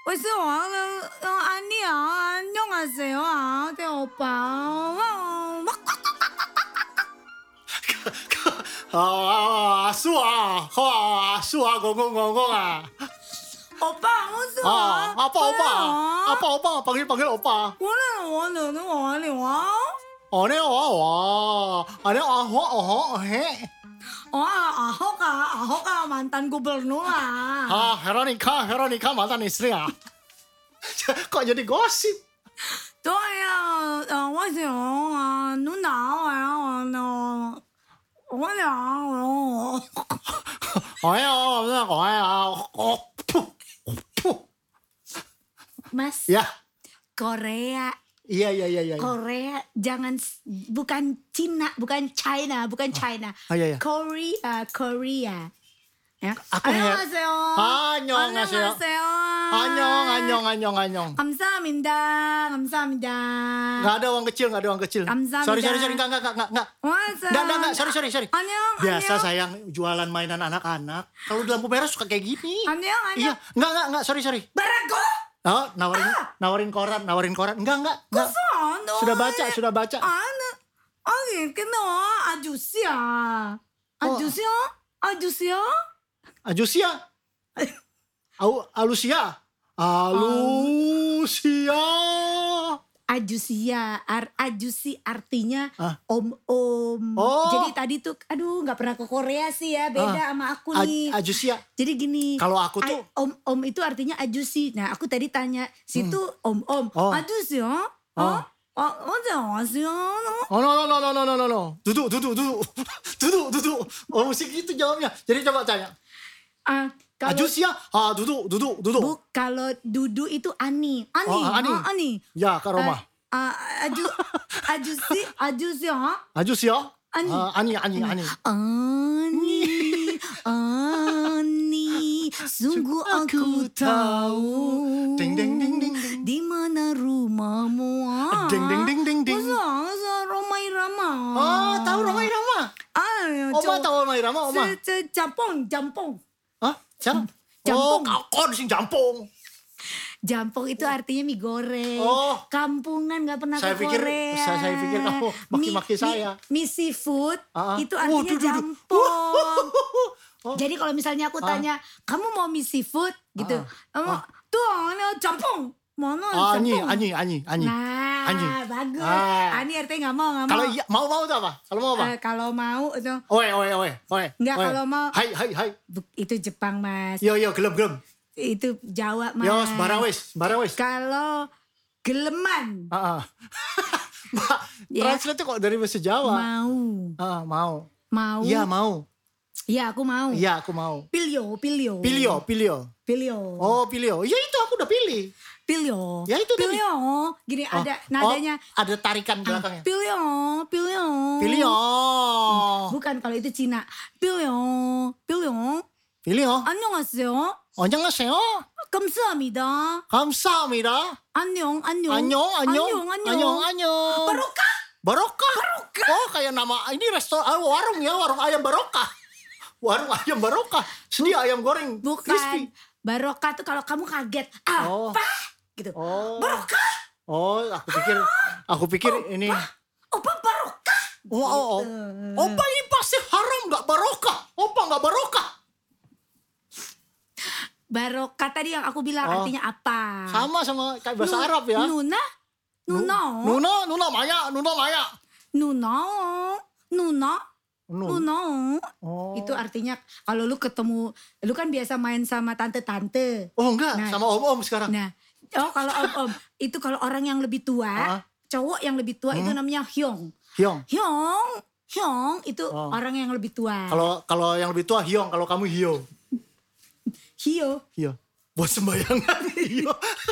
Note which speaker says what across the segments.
Speaker 1: 왜요? 아니야. 안녕하세요. 네, 오빠.
Speaker 2: 수아, 공공공공아.
Speaker 1: 오빠, 무슨?
Speaker 2: 오빠, panggil opa.
Speaker 1: 오늘 와? 아호가 mantan gubernur lah.
Speaker 2: Veronica mantan istri ya. Kok jadi gosip?
Speaker 1: Tuh ya, wasyo, 누나, Mas,
Speaker 2: Ya.
Speaker 1: Korea.
Speaker 2: Iya.
Speaker 1: Korea, bukan Cina, bukan China.
Speaker 2: Iya.
Speaker 1: Korea. Ya.
Speaker 2: Aku
Speaker 1: 안녕하세요.
Speaker 2: 안녕하세요. 안녕.
Speaker 1: 감사합니다.
Speaker 2: Nggak ada uang kecil.
Speaker 1: 감사합니다.
Speaker 2: Sorry, enggak. Enggak, sorry.
Speaker 1: 안녕.
Speaker 2: Biasa sayang jualan mainan anak-anak. Kalau di lampu merah suka kayak gini.
Speaker 1: 안녕.
Speaker 2: Iya, enggak, sorry.
Speaker 1: Barago.
Speaker 2: Oh, nawarin koran. Enggak.
Speaker 1: 무슨?
Speaker 2: Sudah baca.
Speaker 1: 아니, 근데 아저씨야. 아저씨요?
Speaker 2: Ajusia. Alusia.
Speaker 1: Ajusi artinya
Speaker 2: Ah.
Speaker 1: om.
Speaker 2: Oh.
Speaker 1: Jadi tadi tuh, aduh nggak pernah ke Korea sih ya, beda sama aku nih.
Speaker 2: Ajusia.
Speaker 1: Jadi gini.
Speaker 2: Kalau aku tuh
Speaker 1: om itu artinya ajusi. Nah aku tadi tanya, situ om.
Speaker 2: Oh.
Speaker 1: Ajusi ya? 안녕하세요.
Speaker 2: Oh no. Duduk. Oh musik gitu jawabnya. Jadi coba tanya.
Speaker 1: Kalau
Speaker 2: Ajusia. Duduk.
Speaker 1: kalau duduk itu ani. Ani.
Speaker 2: Ya, Kak Roma.
Speaker 1: 아주시 ya?
Speaker 2: Ajusia.
Speaker 1: Ani.
Speaker 2: Ani.
Speaker 1: Ani, sungguh aku tahu.
Speaker 2: Ding.
Speaker 1: Di mana rumahmu?
Speaker 2: Ding.
Speaker 1: Masa Roma Irama?
Speaker 2: Tahu Roma Irama? Oma tahu Roma Irama, Oma?
Speaker 1: Jampong.
Speaker 2: Hah? Siapa?
Speaker 1: Jampong.
Speaker 2: Kau di sini jampong.
Speaker 1: Jampong itu artinya mie goreng.
Speaker 2: Oh.
Speaker 1: Kampungan nggak pernah
Speaker 2: Saya
Speaker 1: ke
Speaker 2: pikir-
Speaker 1: Korea.
Speaker 2: saya pikir kamu maki-maki saya.
Speaker 1: Mie seafood itu artinya
Speaker 2: Waduh.
Speaker 1: jampong.
Speaker 2: Oh.
Speaker 1: Jadi kalau misalnya aku tanya, kamu mau mie seafood gitu? Tuh, ini jampong. Mana
Speaker 2: Ani.
Speaker 1: Nah,
Speaker 2: Ani.
Speaker 1: bagus.
Speaker 2: Ah.
Speaker 1: Ani artinya nggak mau.
Speaker 2: Kalau iya, mau itu apa? Kalau mau apa?
Speaker 1: Kalau mau itu
Speaker 2: Oe.
Speaker 1: Enggak, kalau mau-
Speaker 2: Hai.
Speaker 1: itu Jepang, Mas.
Speaker 2: Yo, gelem.
Speaker 1: Itu Jawa, Mas.
Speaker 2: Yo, sembarang wes.
Speaker 1: Kalau geleman,
Speaker 2: Mbak,
Speaker 1: Ya.
Speaker 2: translate kok dari bahasa Jawa.
Speaker 1: mau.
Speaker 2: Mau. Iya, mau.
Speaker 1: Iya, aku mau.
Speaker 2: Iya, aku mau.
Speaker 1: Pilio.
Speaker 2: Pilio. Oh, pilio. Ya itu aku udah pilih.
Speaker 1: Pilio.
Speaker 2: Ya, itu tadi.
Speaker 1: Pilio. Gini ada nadanya.
Speaker 2: Ada tarikan belakangnya.
Speaker 1: Pilio.
Speaker 2: Pilio.
Speaker 1: Bukan, kalau itu Cina. Pilio. 안녕하세요.
Speaker 2: 안녕하세요.
Speaker 1: 감사합니다. 안녕.
Speaker 2: Barokah. Oh, kayak nama ini restoran warung ya, warung ayam barokah. Warung ayam barokah. Sedia ayam goreng crispy.
Speaker 1: Bukan. Barokah tuh kalau kamu kaget. Apa? Gitu.
Speaker 2: Oh.
Speaker 1: Barokah.
Speaker 2: Oh, aku pikir ini.
Speaker 1: Opa barokah.
Speaker 2: Oh. Opa ini pasti haram nggak barokah. Opa nggak barokah.
Speaker 1: Barokah tadi yang aku bilang artinya apa?
Speaker 2: Sama kayak bahasa Arab ya.
Speaker 1: Nuna.
Speaker 2: Nuna Maya. Oh.
Speaker 1: Itu artinya kalau lu ketemu, lu kan biasa main sama tante-tante.
Speaker 2: Oh enggak,
Speaker 1: Nah.
Speaker 2: sama om-om sekarang.
Speaker 1: Nah, kalau om itu kalau orang yang lebih tua, cowok yang lebih tua itu namanya hyong. Hyong itu orang yang lebih tua.
Speaker 2: Kalau yang lebih tua Hyong, kalau kamu Hio.
Speaker 1: Hio.
Speaker 2: Buat sembayangan Hio.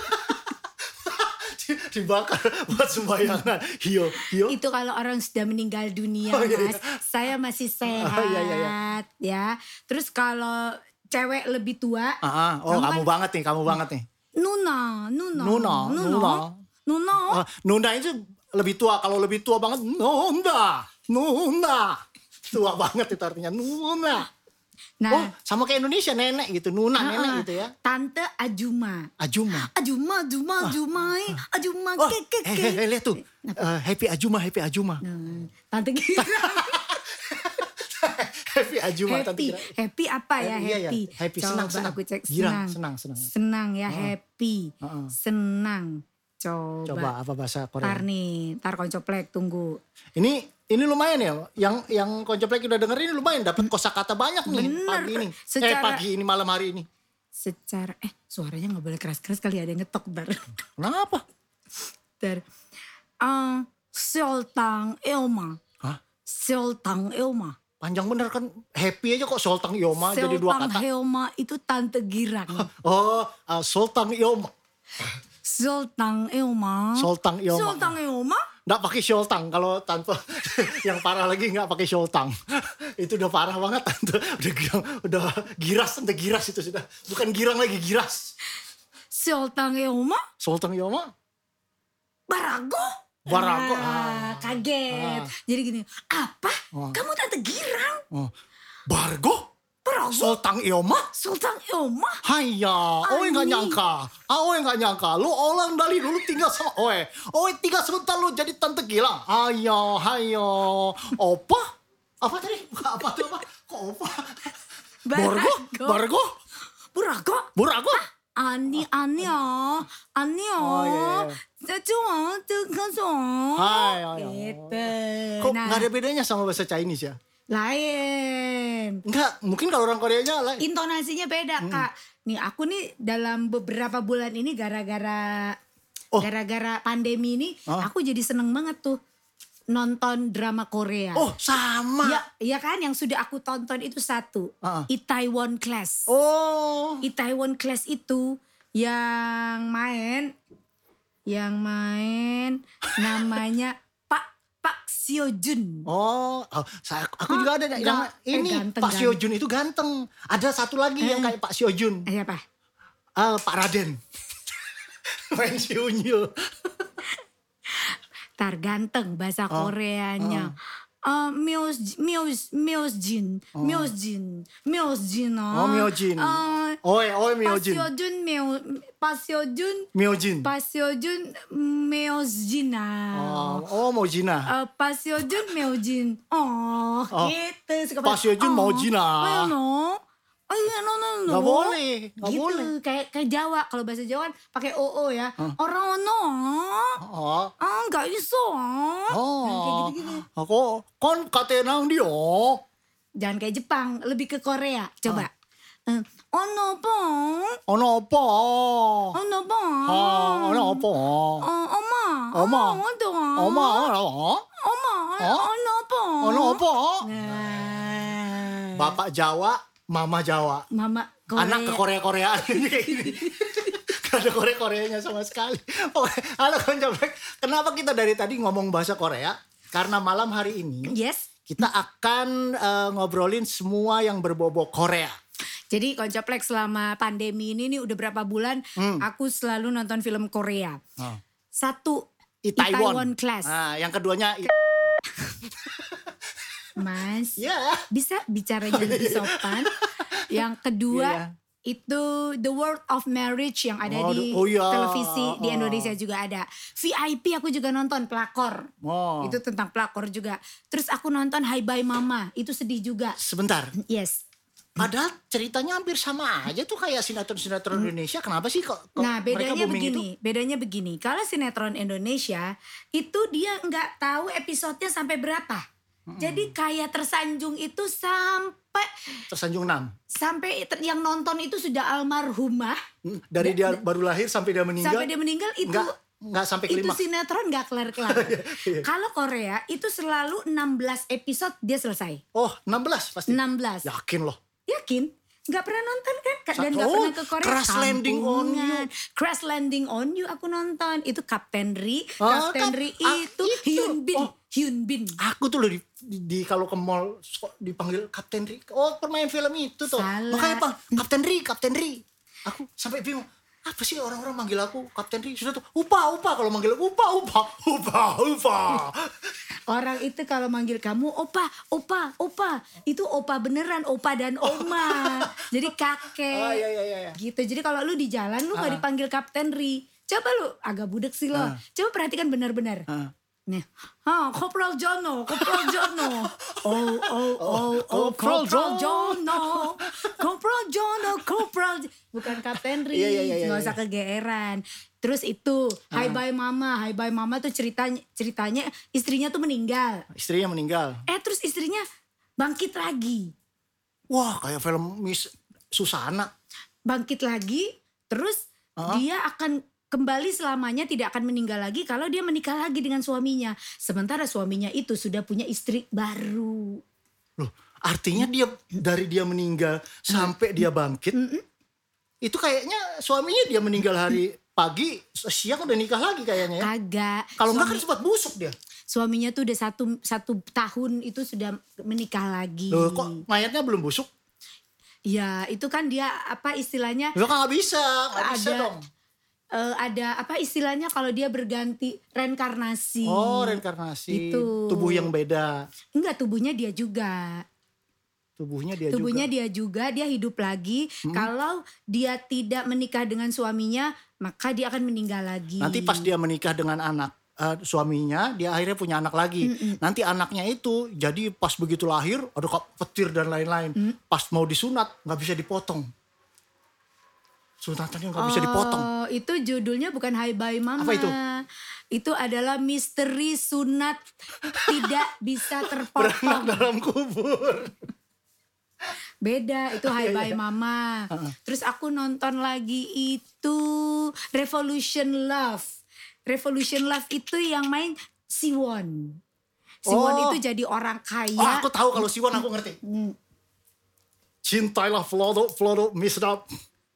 Speaker 2: Dibakar buat sembayangan Hio.
Speaker 1: Itu kalau orang sudah meninggal dunia,
Speaker 2: Oh, iya,
Speaker 1: Mas. Saya masih sehat,
Speaker 2: iya.
Speaker 1: ya. Terus kalau cewek lebih tua,
Speaker 2: Kamu banget nih.
Speaker 1: Nuna.
Speaker 2: Nunda itu lebih tua. Kalau lebih tua banget, Nunda. Tua banget itu artinya Nunda.
Speaker 1: Nah,
Speaker 2: sama kayak Indonesia nenek gitu, Nuna nenek gitu ya.
Speaker 1: Tante Ajuma.
Speaker 2: Ajuma.
Speaker 1: Ajuma,
Speaker 2: Oh,
Speaker 1: keke.
Speaker 2: lihat tuh. Happy Ajuma.
Speaker 1: Tante Girang.
Speaker 2: Happy Ajuma Tante Girang.
Speaker 1: Happy apa ya?
Speaker 2: Iya,
Speaker 1: Happy.
Speaker 2: happy,
Speaker 1: Coba
Speaker 2: senang.
Speaker 1: aku cek
Speaker 2: Girang,
Speaker 1: senang.
Speaker 2: senang.
Speaker 1: Senang ya, happy. Senang.
Speaker 2: Coba apa bahasa Korea?
Speaker 1: Tar koncoplek tunggu.
Speaker 2: Ini lumayan ya, yang koncoplek udah denger ini lumayan, dapat kosakata banyak nih.
Speaker 1: Bener.
Speaker 2: Pagi ini. Pagi ini, malam hari ini.
Speaker 1: Secara suaranya nggak boleh keras-keras kali, ada yang ngetok bar.
Speaker 2: Kenapa?
Speaker 1: Ter Sultang Ilma.
Speaker 2: Hah?
Speaker 1: Sultang Ilma.
Speaker 2: Panjang bener kan, happy aja kok Sultang Ilma jadi 2 kata.
Speaker 1: Sultang Ilma itu Tante Girang.
Speaker 2: Sultang Ilma.
Speaker 1: Sultang Ilma.
Speaker 2: Sultang Ilma.
Speaker 1: Sultang Ilma.
Speaker 2: Nggak pakai Sultang, kalau tanpa yang parah lagi nggak pakai Sultang. Itu udah parah banget tante. Udah giras, tante giras itu sudah. Bukan girang lagi, giras.
Speaker 1: Sultang Ilma.
Speaker 2: Sultang Ilma.
Speaker 1: Barago. Kaget. Jadi gini, apa? Kamu Tante Girang?
Speaker 2: Bargo?
Speaker 1: Barago.
Speaker 2: Sultang Ilma?
Speaker 1: Sultang Ilma.
Speaker 2: Haiya, Oe nggak nyangka. Oe nggak nyangka. Lu orang dari dulu tinggal sama Oe. Oe tinggal sebentar lu jadi Tante Gilang. Haiya. Opa? Apa tadi? Apa tuh apa? Kok opa? Bargo? Burago?
Speaker 1: Ani.
Speaker 2: Oh, iya.
Speaker 1: Saya
Speaker 2: Hai.
Speaker 1: gitu.
Speaker 2: Kok nggak ada bedanya sama bahasa Chinese ya?
Speaker 1: Lain.
Speaker 2: Enggak, mungkin kalau orang Koreanya lain.
Speaker 1: Intonasinya beda, Kak. Nih aku nih dalam beberapa bulan ini gara-gara pandemi ini aku jadi seneng banget tuh nonton drama Korea.
Speaker 2: Oh, sama.
Speaker 1: Ya kan, yang sudah aku tonton itu satu, Itaewon Class.
Speaker 2: Oh.
Speaker 1: Itaewon Class itu yang main namanya Pak Seo Jun.
Speaker 2: Aku juga ada yang ini
Speaker 1: ganteng,
Speaker 2: Pak Seo Jun itu ganteng. Ada satu lagi yang kayak Pak Seo Jun.
Speaker 1: Siapa?
Speaker 2: Pak Raden. Main si Unyil.
Speaker 1: Tar ganteng bahasa Koreanya. Myeosjin.
Speaker 2: Myojin.
Speaker 1: Myosjin. Paseojun Myosjin.
Speaker 2: Mojina.
Speaker 1: Paseojun Myosjin. Gitu.
Speaker 2: Paseojun Mojina.
Speaker 1: No.
Speaker 2: Gak boleh.
Speaker 1: Kayak Jawa, kalau bahasa Jawa kan pakai oo ya. Orang ono. Gak iso. Kayak gitu-gitu.
Speaker 2: Aku kon katenang dia.
Speaker 1: Jangan kayak Jepang, lebih ke Korea. Coba. Ono po.
Speaker 2: Oma. Ono po. Bapak Jawa, Mama Jawa.
Speaker 1: Mama Korea.
Speaker 2: Anak ke Korea-Koreaan kayak gini. Gak ada Korea-Koreanya sama sekali. Oke, halo Koncoplek. Kenapa kita dari tadi ngomong bahasa Korea? Karena malam hari ini kita akan ngobrolin semua yang berbobot Korea.
Speaker 1: Jadi Koncoplek selama pandemi ini nih udah berapa bulan aku selalu nonton film Korea. Satu, Itaewon Class.
Speaker 2: Nah, yang keduanya
Speaker 1: Mas, bisa bicara jangan sopan. Yang kedua itu The World of Marriage yang ada di televisi di Indonesia juga ada. VIP aku juga nonton, pelakor. Itu tentang pelakor juga. Terus aku nonton Hi Bye Mama, itu sedih juga.
Speaker 2: Sebentar.
Speaker 1: Yes.
Speaker 2: Padahal ceritanya hampir sama aja tuh kayak sinetron-sinetron Indonesia. Kenapa sih kok
Speaker 1: Nah
Speaker 2: mereka
Speaker 1: bedanya begini. Kalau sinetron Indonesia itu dia nggak tahu episodenya sampai berapa. Jadi kayak tersanjung itu sampai
Speaker 2: Tersanjung 6.
Speaker 1: Sampai yang nonton itu sudah almarhumah.
Speaker 2: Dari dia baru lahir sampai dia meninggal.
Speaker 1: Sampai dia meninggal itu
Speaker 2: nggak sampai kelima.
Speaker 1: Itu sinetron nggak kelar-kelar. Kalau Korea itu selalu 16 episode dia selesai.
Speaker 2: Oh, 16 pasti.
Speaker 1: 16.
Speaker 2: Yakin loh.
Speaker 1: Yakin? Gak pernah nonton kan? Dan gak pernah ke Korea.
Speaker 2: Crash Landing on You.
Speaker 1: Crash Landing on You aku nonton. Itu Kapten Ri. Kapten Ri itu Hyun Bin.
Speaker 2: Aku tuh loh di kalau ke mall dipanggil Kapten Ri. Oh, pemain film itu tuh.
Speaker 1: Salah.
Speaker 2: Makanya apa? Kapten Ri. Aku sampai bingung. Apa sih orang-orang manggil aku Kapten Ri? Sudah tuh Upa kalau manggil Upa.
Speaker 1: Orang itu kalau manggil kamu opa, itu opa beneran, opa dan oma. Jadi kakek.
Speaker 2: Iya.
Speaker 1: Gitu. Jadi kalau lu di jalan lu gak dipanggil Kapten Ri. Coba lu agak budek sih lo. Coba perhatikan benar-benar. Nih, Kopral Jono. Kopral Jono, bukan Kapten Ri.
Speaker 2: Iya.
Speaker 1: Gak usah kegeeran. Terus itu, Hai Bye Mama tuh ceritanya istrinya tuh meninggal.
Speaker 2: Istrinya meninggal.
Speaker 1: Terus istrinya bangkit lagi.
Speaker 2: Wah, kayak film Miss Susana.
Speaker 1: Bangkit lagi, terus dia akan kembali selamanya, tidak akan meninggal lagi kalau dia menikah lagi dengan suaminya. Sementara suaminya itu sudah punya istri baru.
Speaker 2: Loh, artinya dari dia meninggal sampai dia bangkit, itu kayaknya suaminya dia meninggal hari pagi, siang udah nikah lagi kayaknya ya.
Speaker 1: Kagak.
Speaker 2: Kalau enggak kan sempat busuk dia.
Speaker 1: Suaminya tuh udah satu tahun itu sudah menikah lagi.
Speaker 2: Loh, kok mayatnya belum busuk?
Speaker 1: Ya itu kan dia apa istilahnya.
Speaker 2: Lo kan gak bisa dong.
Speaker 1: Ada apa istilahnya kalau dia berganti reinkarnasi.
Speaker 2: Oh, reinkarnasi.
Speaker 1: Itu.
Speaker 2: Tubuh yang beda.
Speaker 1: Enggak, tubuhnya dia juga. Dia juga, dia hidup lagi. Kalau dia tidak menikah dengan suaminya, maka dia akan meninggal lagi.
Speaker 2: Nanti pas dia menikah dengan anak suaminya, dia akhirnya punya anak lagi. Nanti anaknya itu jadi pas begitu lahir, ada petir dan lain-lain. Pas mau disunat, gak bisa dipotong. Sunatannya gak bisa dipotong.
Speaker 1: Itu judulnya bukan Hai Bye Mama.
Speaker 2: Apa itu?
Speaker 1: Itu adalah misteri sunat tidak bisa terpotong.
Speaker 2: Beranak dalam kubur.
Speaker 1: Beda, itu Hai Bye Mama. Terus aku nonton lagi itu Revolution Love. Revolution Love itu yang main Siwon. Siwon itu jadi orang kaya.
Speaker 2: Aku tahu kalau Siwon, aku ngerti. Cintailah Flodo Misdap.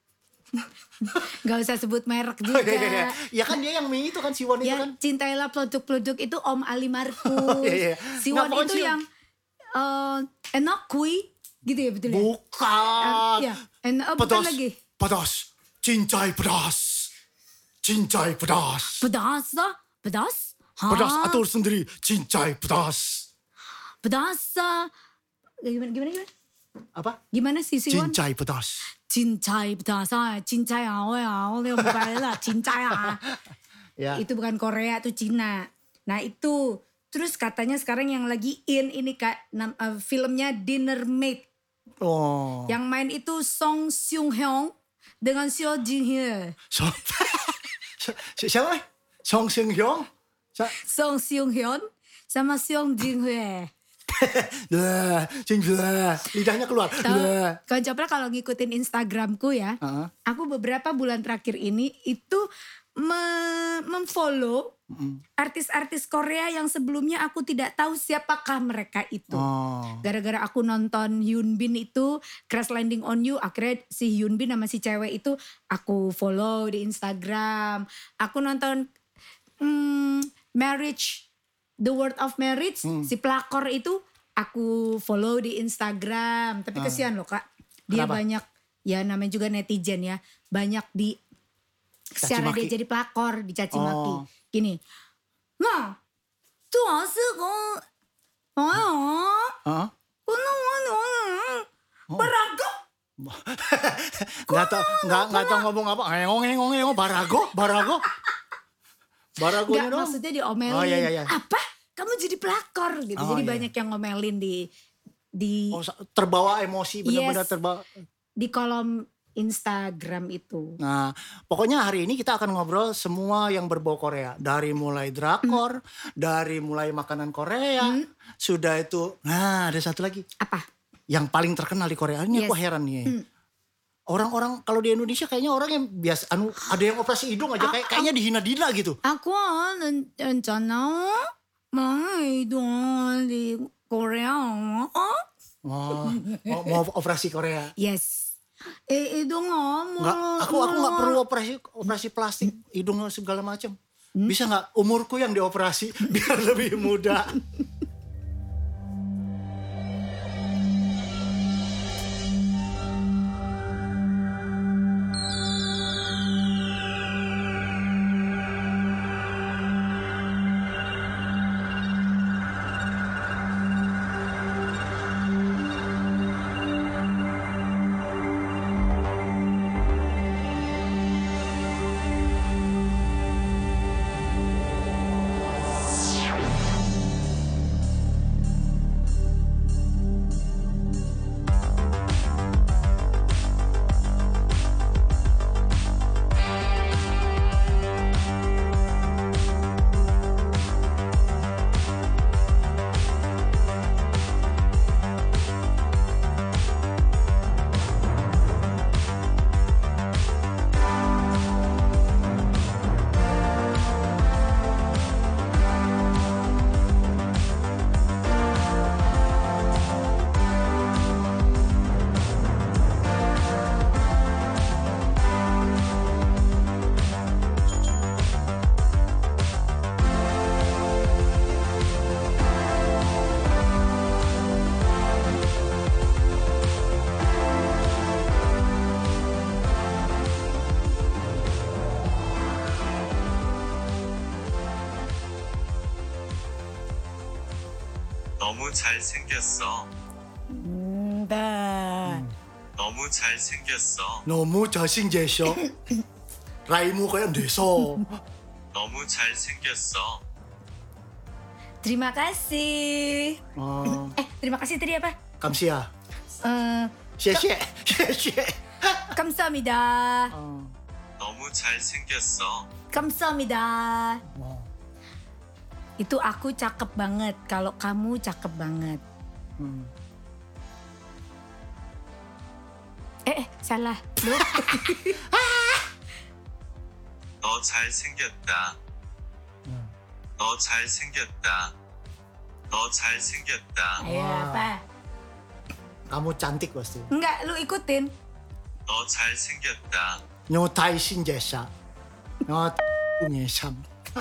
Speaker 1: Gak usah sebut merek juga.
Speaker 2: Ya kan dia yang itu kan Siwon itu kan.
Speaker 1: Cintailah produk-produk itu Om Ali Markus. Siwon itu yang enak kui gitu ya betul ya?
Speaker 2: Bukan.
Speaker 1: Bukan lagi.
Speaker 2: Pedas. Cincai pedas. Cincai pedas.
Speaker 1: Pedas.
Speaker 2: Pedas atur sendiri. Cincai pedas.
Speaker 1: Pedas. Gimana?
Speaker 2: Apa?
Speaker 1: Gimana sih Siwon?
Speaker 2: Cincai pedas.
Speaker 1: Cincai pedas. Cincai ya. Itu bukan Korea, itu Cina. Nah itu. Terus katanya sekarang yang lagi ini Kak, filmnya Dinner Mate. Yang main itu Song Seung Hyun dengan Seo Jin Hye.
Speaker 2: Siapa? Song Seung Hyun?
Speaker 1: Song Seung Hyun sama Seo Jin Hye.
Speaker 2: Lidahnya keluar.
Speaker 1: Kawan Copra kalau ngikutin Instagramku ya, aku beberapa bulan terakhir ini itu memfollow artis-artis Korea yang sebelumnya aku tidak tahu siapakah mereka itu. Gara-gara aku nonton Hyun Bin itu Crash Landing on You, akhirnya si Hyun Bin sama si cewek itu aku follow di Instagram. Aku nonton The World of Marriage, si pelakor itu aku follow di Instagram. Tapi kesian loh Kak, dia
Speaker 2: Kenapa?
Speaker 1: banyak, ya namanya juga netizen ya, banyak di secara dia jadi pelakor dicaci maki. Gini, nah, tuh barago.
Speaker 2: Nggak tahu ngomong apa. Ngomong barago. Baragonya
Speaker 1: Nggak,
Speaker 2: dong.
Speaker 1: maksudnya diomelin.
Speaker 2: Iya.
Speaker 1: Apa? Kamu jadi pelakor gitu. Jadi banyak yang ngomelin di
Speaker 2: terbawa emosi, benar-benar terbawa.
Speaker 1: Di kolom Instagram itu.
Speaker 2: Nah, pokoknya hari ini kita akan ngobrol semua yang berbau Korea. Dari mulai drakor, dari mulai makanan Korea, sudah itu. Nah, ada satu lagi.
Speaker 1: Apa?
Speaker 2: Yang paling terkenal di Korea. Ini aku heran nih. Orang-orang kalau di Indonesia kayaknya orang yang biasa, ada yang operasi hidung aja kayaknya dihina-dina gitu.
Speaker 1: Aku rencana mau hidung di Korea.
Speaker 2: Mau operasi Korea.
Speaker 1: Yes. Hidung
Speaker 2: aku nggak perlu operasi plastik, hidung segala macam. Bisa nggak umurku yang dioperasi biar lebih muda?
Speaker 3: 너무 잘생겼어. 너무 잘생겼어.
Speaker 2: 너무 잘생겼어. Raimu kayak deso.
Speaker 3: 너무 잘생겼어.
Speaker 1: Terima kasih. Terima kasih tadi apa?
Speaker 2: Kamsia.
Speaker 1: 谢谢.
Speaker 2: 谢谢.
Speaker 1: 감사합니다.
Speaker 3: 너무 잘생겼어.
Speaker 1: 감사합니다. Itu aku cakep banget. Kalau kamu cakep banget. Salah.
Speaker 3: 너 잘생겼다. 너 잘생겼다. 너 잘생겼다.
Speaker 1: Ayo apa?
Speaker 2: Kamu cantik pasti.
Speaker 1: Enggak, lu ikutin.
Speaker 3: 너 잘생겼다.
Speaker 2: Nyotai sinjesa. Nyesam.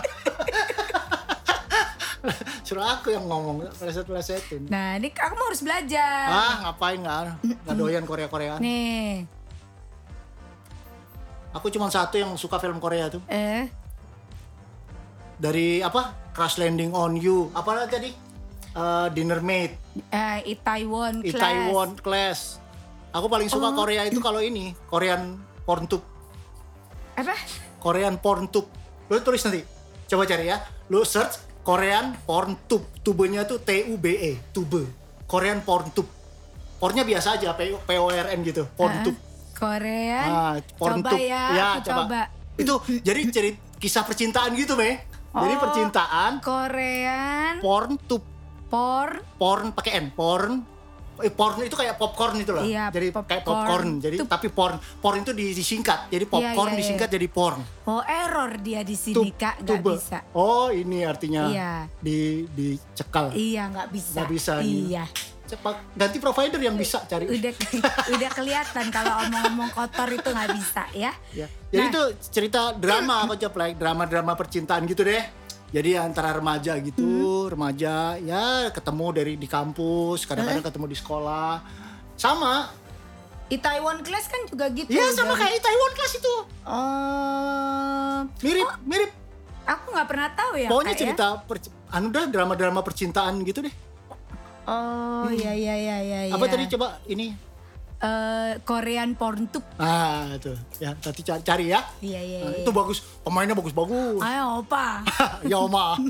Speaker 2: Suruh aku yang ngomong, pleset-plesetin.
Speaker 1: Nah, ini kamu harus belajar.
Speaker 2: Ngapain nggak doyan Korea-Koreaan.
Speaker 1: Nih.
Speaker 2: Aku cuma satu yang suka film Korea tuh. Dari apa? Crash Landing on You. Apa tadi? Dinner Mate.
Speaker 1: Itaewon Class.
Speaker 2: Itaewon Class. Aku paling suka Korea itu kalau ini Korean PornTube.
Speaker 1: Apa?
Speaker 2: Korean PornTube. Lu tulis nanti. Coba cari ya. Lu search Korean PornTube. Tubenya tuh TUBE, tube. Korean PornTube. Pornya biasa aja, PORN gitu, PornTube.
Speaker 1: Korean.
Speaker 2: PornTube.
Speaker 1: Coba ya, aku coba.
Speaker 2: Itu jadi kisah percintaan gitu, Me. Jadi percintaan
Speaker 1: Korean
Speaker 2: PornTube. Porn pakai N, porn itu kayak popcorn itu loh.
Speaker 1: Iya,
Speaker 2: jadi kayak popcorn. Jadi tapi porn itu disingkat. Jadi popcorn disingkat jadi porn.
Speaker 1: Error dia di sini Kak, nggak bisa.
Speaker 2: Ini artinya dicekal.
Speaker 1: Iya, nggak bisa.
Speaker 2: Nggak bisa.
Speaker 1: Iya.
Speaker 2: Cepat ganti provider yang bisa cari.
Speaker 1: Udah kelihatan kalau omong-omong kotor itu nggak bisa ya.
Speaker 2: Jadi itu cerita drama aku drama percintaan gitu deh. Jadi antara remaja gitu, remaja ya ketemu di kampus, kadang-kadang ketemu di sekolah. Sama.
Speaker 1: Itaewon Class kan juga gitu.
Speaker 2: Iya sama kayak Itaewon Class itu. Mirip.
Speaker 1: Aku nggak pernah tahu ya.
Speaker 2: Pokoknya cerita drama-drama percintaan gitu deh.
Speaker 1: Iya.
Speaker 2: Apa tadi coba ini?
Speaker 1: Korean PornTube.
Speaker 2: Itu ya nanti cari ya.
Speaker 1: Iya.
Speaker 2: Itu bagus, pemainnya bagus.
Speaker 1: Ayo opa.
Speaker 2: Ya oma.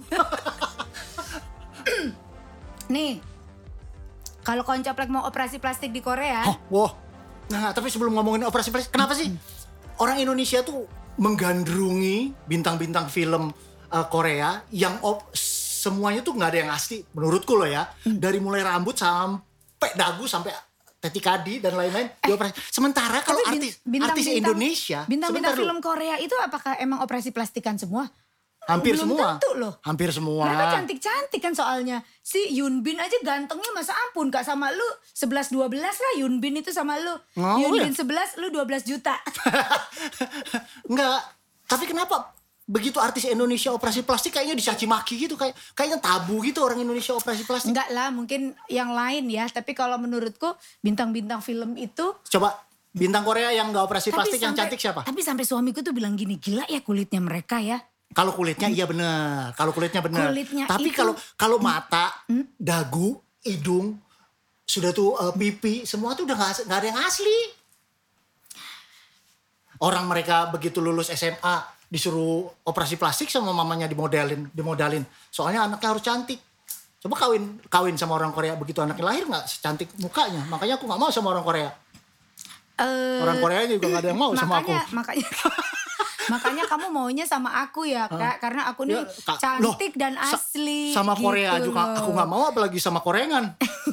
Speaker 1: Nih, kalau Koncoplek mau operasi plastik di Korea.
Speaker 2: Nah tapi sebelum ngomongin operasi plastik, kenapa sih orang Indonesia tuh menggandrungi bintang-bintang film Korea yang semuanya tuh nggak ada yang asli menurutku loh ya. Dari mulai rambut sampai dagu sampai tetikadi dan lain-lain dioperasi. Sementara kalau artis Indonesia,
Speaker 1: bintang-bintang film Korea itu apakah emang operasi plastikan semua?
Speaker 2: Hampir
Speaker 1: Belum
Speaker 2: semua.
Speaker 1: tentu loh.
Speaker 2: Hampir semua.
Speaker 1: Mereka cantik-cantik kan soalnya. Si Yoon Bin aja gantengnya masa ampun Kak, sama lu 11-12 lah Yoon Bin itu sama lu. Yoon Bin 11, lu 12 juta.
Speaker 2: Enggak. Tapi kenapa begitu artis Indonesia operasi plastik kayaknya dicaci maki gitu, kayaknya tabu gitu orang Indonesia operasi plastik.
Speaker 1: Enggak lah, mungkin yang lain ya, tapi kalau menurutku bintang-bintang film itu.
Speaker 2: Coba bintang Korea yang enggak operasi plastik yang cantik siapa?
Speaker 1: Tapi sampai suamiku tuh bilang gini, gila ya kulitnya mereka ya.
Speaker 2: Kalau kulitnya iya benar, tapi
Speaker 1: itu,
Speaker 2: kalau mata, dagu, hidung, sudah tuh pipi, semua tuh udah nggak ada yang asli. Orang mereka begitu lulus SMA disuruh operasi plastik sama mamanya dimodalin. Soalnya anaknya harus cantik. Coba kawin sama orang Korea begitu anaknya lahir nggak secantik mukanya. Makanya aku nggak mau sama orang Korea. Orang Korea juga nggak ada yang mau sama aku.
Speaker 1: Makanya kamu maunya sama aku ya Kak, karena aku nih cantik dan asli.
Speaker 2: Sama gitu Korea juga aku nggak mau, apalagi sama korengan.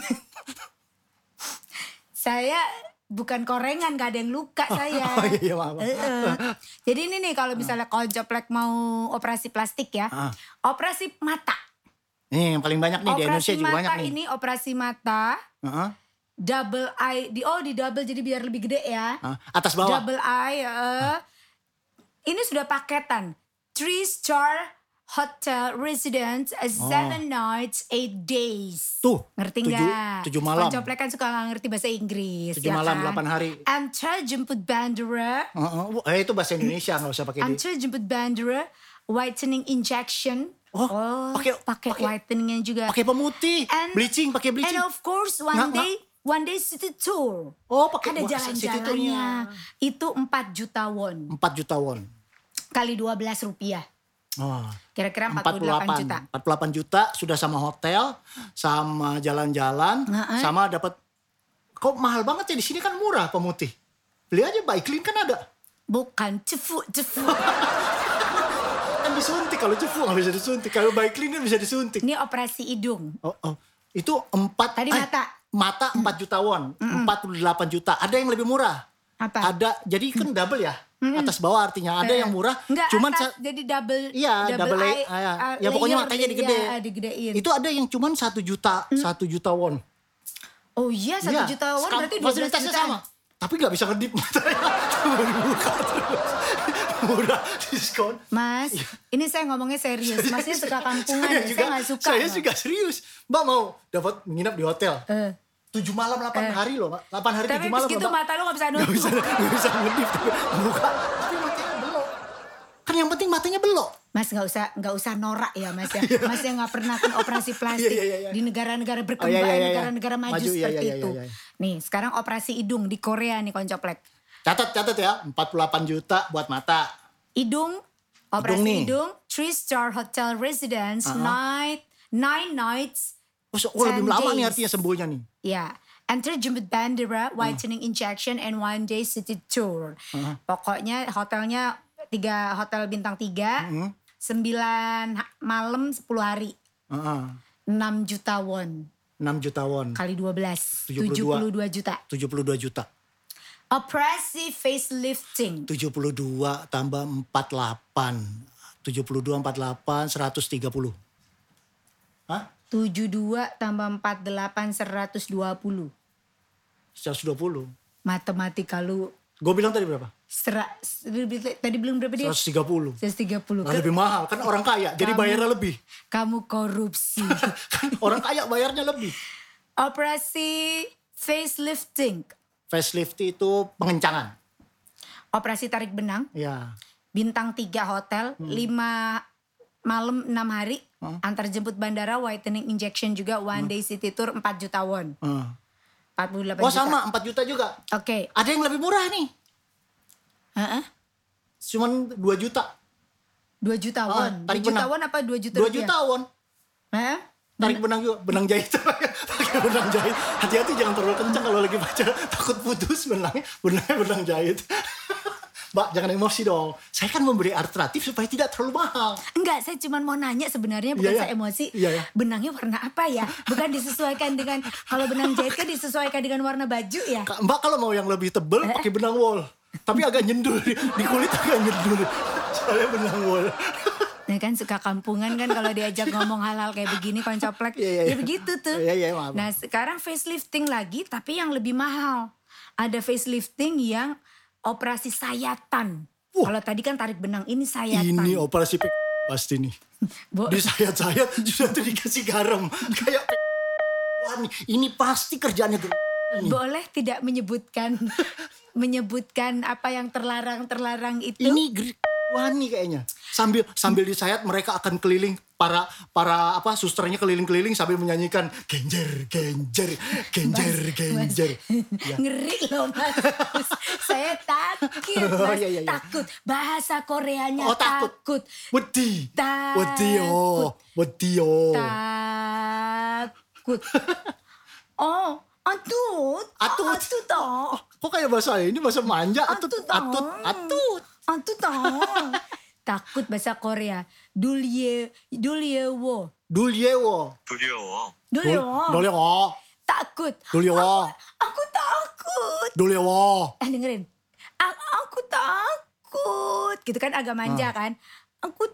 Speaker 1: Saya bukan korengan, gak ada yang luka saya.
Speaker 2: Iya, maaf.
Speaker 1: Jadi ini nih kalau misalnya Koncoplek mau operasi plastik ya, operasi mata.
Speaker 2: Nih yang paling banyak nih di Indonesia juga banyak nih.
Speaker 1: Operasi mata ini operasi mata. Double eye, di double jadi biar lebih gede ya.
Speaker 2: Atas bawah.
Speaker 1: Double eye. Ini sudah paketan. 3-star hotel residence 7 nights 8 days.
Speaker 2: Tuh.
Speaker 1: Ngerti nggak?
Speaker 2: 7 malam.
Speaker 1: Koncoplek kan suka nggak ngerti bahasa Inggris.
Speaker 2: 7 malam,
Speaker 1: kan?
Speaker 2: 8 hari.
Speaker 1: Antar jemput bandara.
Speaker 2: Itu bahasa Indonesia, nggak usah pakai
Speaker 1: Antar jemput bandara. whitening injection. Pakai whiteningnya juga.
Speaker 2: Pakai pemutih, bleaching.
Speaker 1: And of course one day city tour. Ada jalan-jalannya. Itu 4 juta won.
Speaker 2: 4 juta won.
Speaker 1: Kali 12 rupiah. Kira-kira 48 juta.
Speaker 2: 48 juta sudah sama hotel, sama jalan-jalan, sama dapat. Kok mahal banget ya, di sini kan murah pemutih. Beli aja Baiklin kan ada.
Speaker 1: Bukan cefu.
Speaker 2: Kan disuntik, kalau cefu nggak bisa disuntik. Kalau Baiklin kan bisa disuntik.
Speaker 1: Ini operasi hidung.
Speaker 2: Itu 4.
Speaker 1: Tadi
Speaker 2: Mata 4 juta won, 48 juta. Ada yang lebih murah.
Speaker 1: Apa?
Speaker 2: Ada, jadi kan double ya. Atas bawah artinya ada yang murah.
Speaker 1: Enggak,
Speaker 2: cuman
Speaker 1: jadi double.
Speaker 2: Iya, double ya pokoknya makanya
Speaker 1: digedein.
Speaker 2: Itu ada yang cuman 1 juta, 1 juta won.
Speaker 1: Oh iya, 1 juta won berarti 12 juta.
Speaker 2: Sama. Tapi gak bisa ngedip matanya. Cuma dibuka terus. Murah, diskon.
Speaker 1: Mas, ini saya ngomongnya serius. Masnya suka kampungan, saya gak suka.
Speaker 2: Saya juga serius. Mbak mau dapat nginap di hotel. 7 malam 8 hari loh, 8 hari 7 malam.
Speaker 1: Tapi segitu mata lo gak bisa nutup.
Speaker 2: Gak bisa ngedip. Buka. Tapi matanya belok. Kan yang penting matanya belok.
Speaker 1: Mas gak usah norak ya Mas ya. Mas yang gak pernah kan operasi plastik di negara-negara berkembang, negara-negara maju seperti itu. Nih sekarang operasi hidung di Korea nih Koncoplek.
Speaker 2: Catat ya, 48 juta buat mata.
Speaker 1: Hidung, operasi hidung, 3-star hotel residence, 9 nights.
Speaker 2: Lebih lama nih artinya sembuhnya nih.
Speaker 1: Ya, enter jemput bandara, whitening injection, and 1 day city tour. Pokoknya hotelnya 3 hotel bintang 3, 9 malam 10 hari. 6 juta won. 6 juta won. Kali 12, 72 juta.
Speaker 2: 72 juta.
Speaker 1: Operasi facelifting.
Speaker 2: 72 tambah 48. 72, 48, 130. Hah?
Speaker 1: 72 tambah 48, 120.
Speaker 2: 120.
Speaker 1: Matematika lu.
Speaker 2: Gue bilang tadi berapa?
Speaker 1: Tadi belum berapa dia?
Speaker 2: 130.
Speaker 1: 130.
Speaker 2: Lebih mahal, kan orang kaya, jadi bayarnya lebih.
Speaker 1: Kamu korupsi.
Speaker 2: Kan orang kaya bayarnya lebih.
Speaker 1: Operasi facelifting.
Speaker 2: Facelift itu pengencangan.
Speaker 1: Operasi tarik benang.
Speaker 2: Ya.
Speaker 1: Bintang 3 hotel, 5 malam 6 hari. Antar jemput bandara, whitening injection juga, 1 day city tour, 4 juta won. 48 juta.
Speaker 2: Sama 4 juta juga.
Speaker 1: Oke.
Speaker 2: Ada yang lebih murah nih. Cuman 2 juta.
Speaker 1: 2 juta won. 2 juta won apa 2 juta
Speaker 2: 2 juta won. Tarik benang juga, benang jahit. Pakai benang jahit. Hati-hati jangan terlalu kencang kalau lagi baca, takut putus benang jahit. Mbak, jangan emosi dong. Saya kan memberi alternatif supaya tidak terlalu mahal.
Speaker 1: Enggak, saya cuma mau nanya sebenarnya, bukan saya emosi. Benangnya warna apa ya? Bukan disesuaikan dengan, kalau benang jahit kan disesuaikan dengan warna baju ya?
Speaker 2: Mbak kalau mau yang lebih tebal pakai benang wol. Tapi agak nyendul, di kulit agak nyendul. Soalnya benang wol.
Speaker 1: Nah kan suka kampungan kan kalau diajak ngomong hal-hal kayak begini Koncoplek. Ya begitu tuh.
Speaker 2: Maaf.
Speaker 1: Nah sekarang facelifting lagi tapi yang lebih mahal. Ada facelifting yang operasi sayatan. Kalau tadi kan tarik benang, ini sayatan.
Speaker 2: Ini operasi pasti nih. Disayat-sayat sudah tuh dikasih garam. Kayak ini pasti kerjaannya
Speaker 1: boleh tidak menyebutkan apa yang terlarang itu?
Speaker 2: Ini wani kayaknya. Sambil disayat mereka akan keliling, para susternya keliling-keliling sambil menyanyikan genjer.
Speaker 1: Ya. Ngeri loh Mas. Saya takut Mas. Takut. Bahasa Koreanya takut.
Speaker 2: Wedi.
Speaker 1: Takut. Atut.
Speaker 2: Kok kayak bahasa ini bahasa manja? Atut.
Speaker 1: Takut bahasa Korea. Dulyewo. Takut. Aku takut. Dengerin. Aku takut. Gitu kan agak manja kan. Aku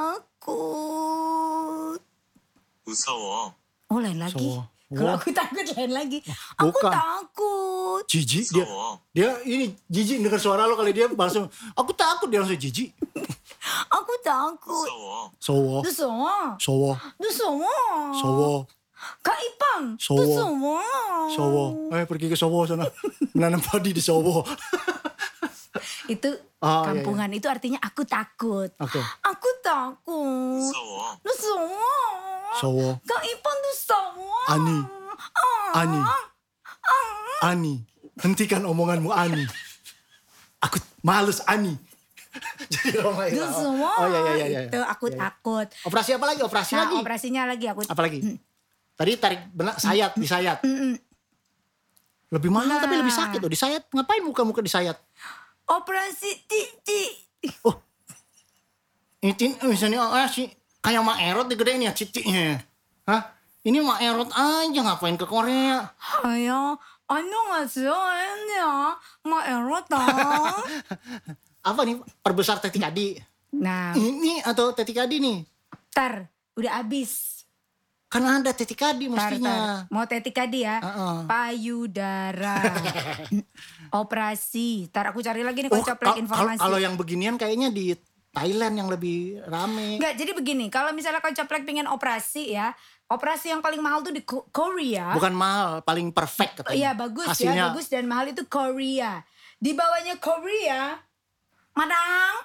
Speaker 1: takut.
Speaker 3: 무서워.
Speaker 1: Oh lain lagi. Kalau aku takut lain lagi. Aku takut.
Speaker 2: Jijik dia ini jijik dengar suara lo kali dia langsung aku takut, dia langsung jijik.
Speaker 1: Aku takut.
Speaker 2: Sowo.
Speaker 1: Kak Ipang. Sowo.
Speaker 2: Pergi ke Sowo sana. Menanam padi di Sowo.
Speaker 1: Itu kampungan itu artinya aku takut.
Speaker 2: Okay.
Speaker 1: Aku takut.
Speaker 3: 무서워.
Speaker 2: Sowo.
Speaker 1: Kang Ipon tuh sowo.
Speaker 2: Ani. Hentikan omonganmu Ani. Aku males Ani. Jadi Roma itu. Oh iya.
Speaker 1: Itu aku takut.
Speaker 2: Operasi apa lagi? Operasi
Speaker 1: Nah,
Speaker 2: lagi.
Speaker 1: operasinya lagi aku.
Speaker 2: Apa lagi? Tadi tarik benak sayat, disayat. Lebih mahal tapi lebih sakit loh disayat. Ngapain muka-muka disayat?
Speaker 1: Operasi titik.
Speaker 2: Oh. Ini misalnya sih kayak Mak Erot digedein ya titiknya. Hah? Ini Mak Erot aja ngapain ke Korea?
Speaker 1: Ayo, 안녕하세요. Enya, Mak Erot.
Speaker 2: Apa nih? Perbesar tetikadi.
Speaker 1: Nah,
Speaker 2: ini atau tetikadi nih?
Speaker 1: Tar, udah habis.
Speaker 2: Karena ada tetikadi mestinya.
Speaker 1: Mau tetikadi ya? Payudara. Operasi. Tar aku cari lagi nih Koncoplek informasi.
Speaker 2: Kalau yang beginian kayaknya di Thailand yang lebih rame.
Speaker 1: Enggak, jadi begini. Kalau misalnya Koncoplek pengen operasi ya. Operasi yang paling mahal tuh di Korea.
Speaker 2: Bukan mahal, paling perfect katanya.
Speaker 1: Iya bagus hasilnya. Ya, bagus dan mahal itu Korea. Di bawahnya Korea, Madang,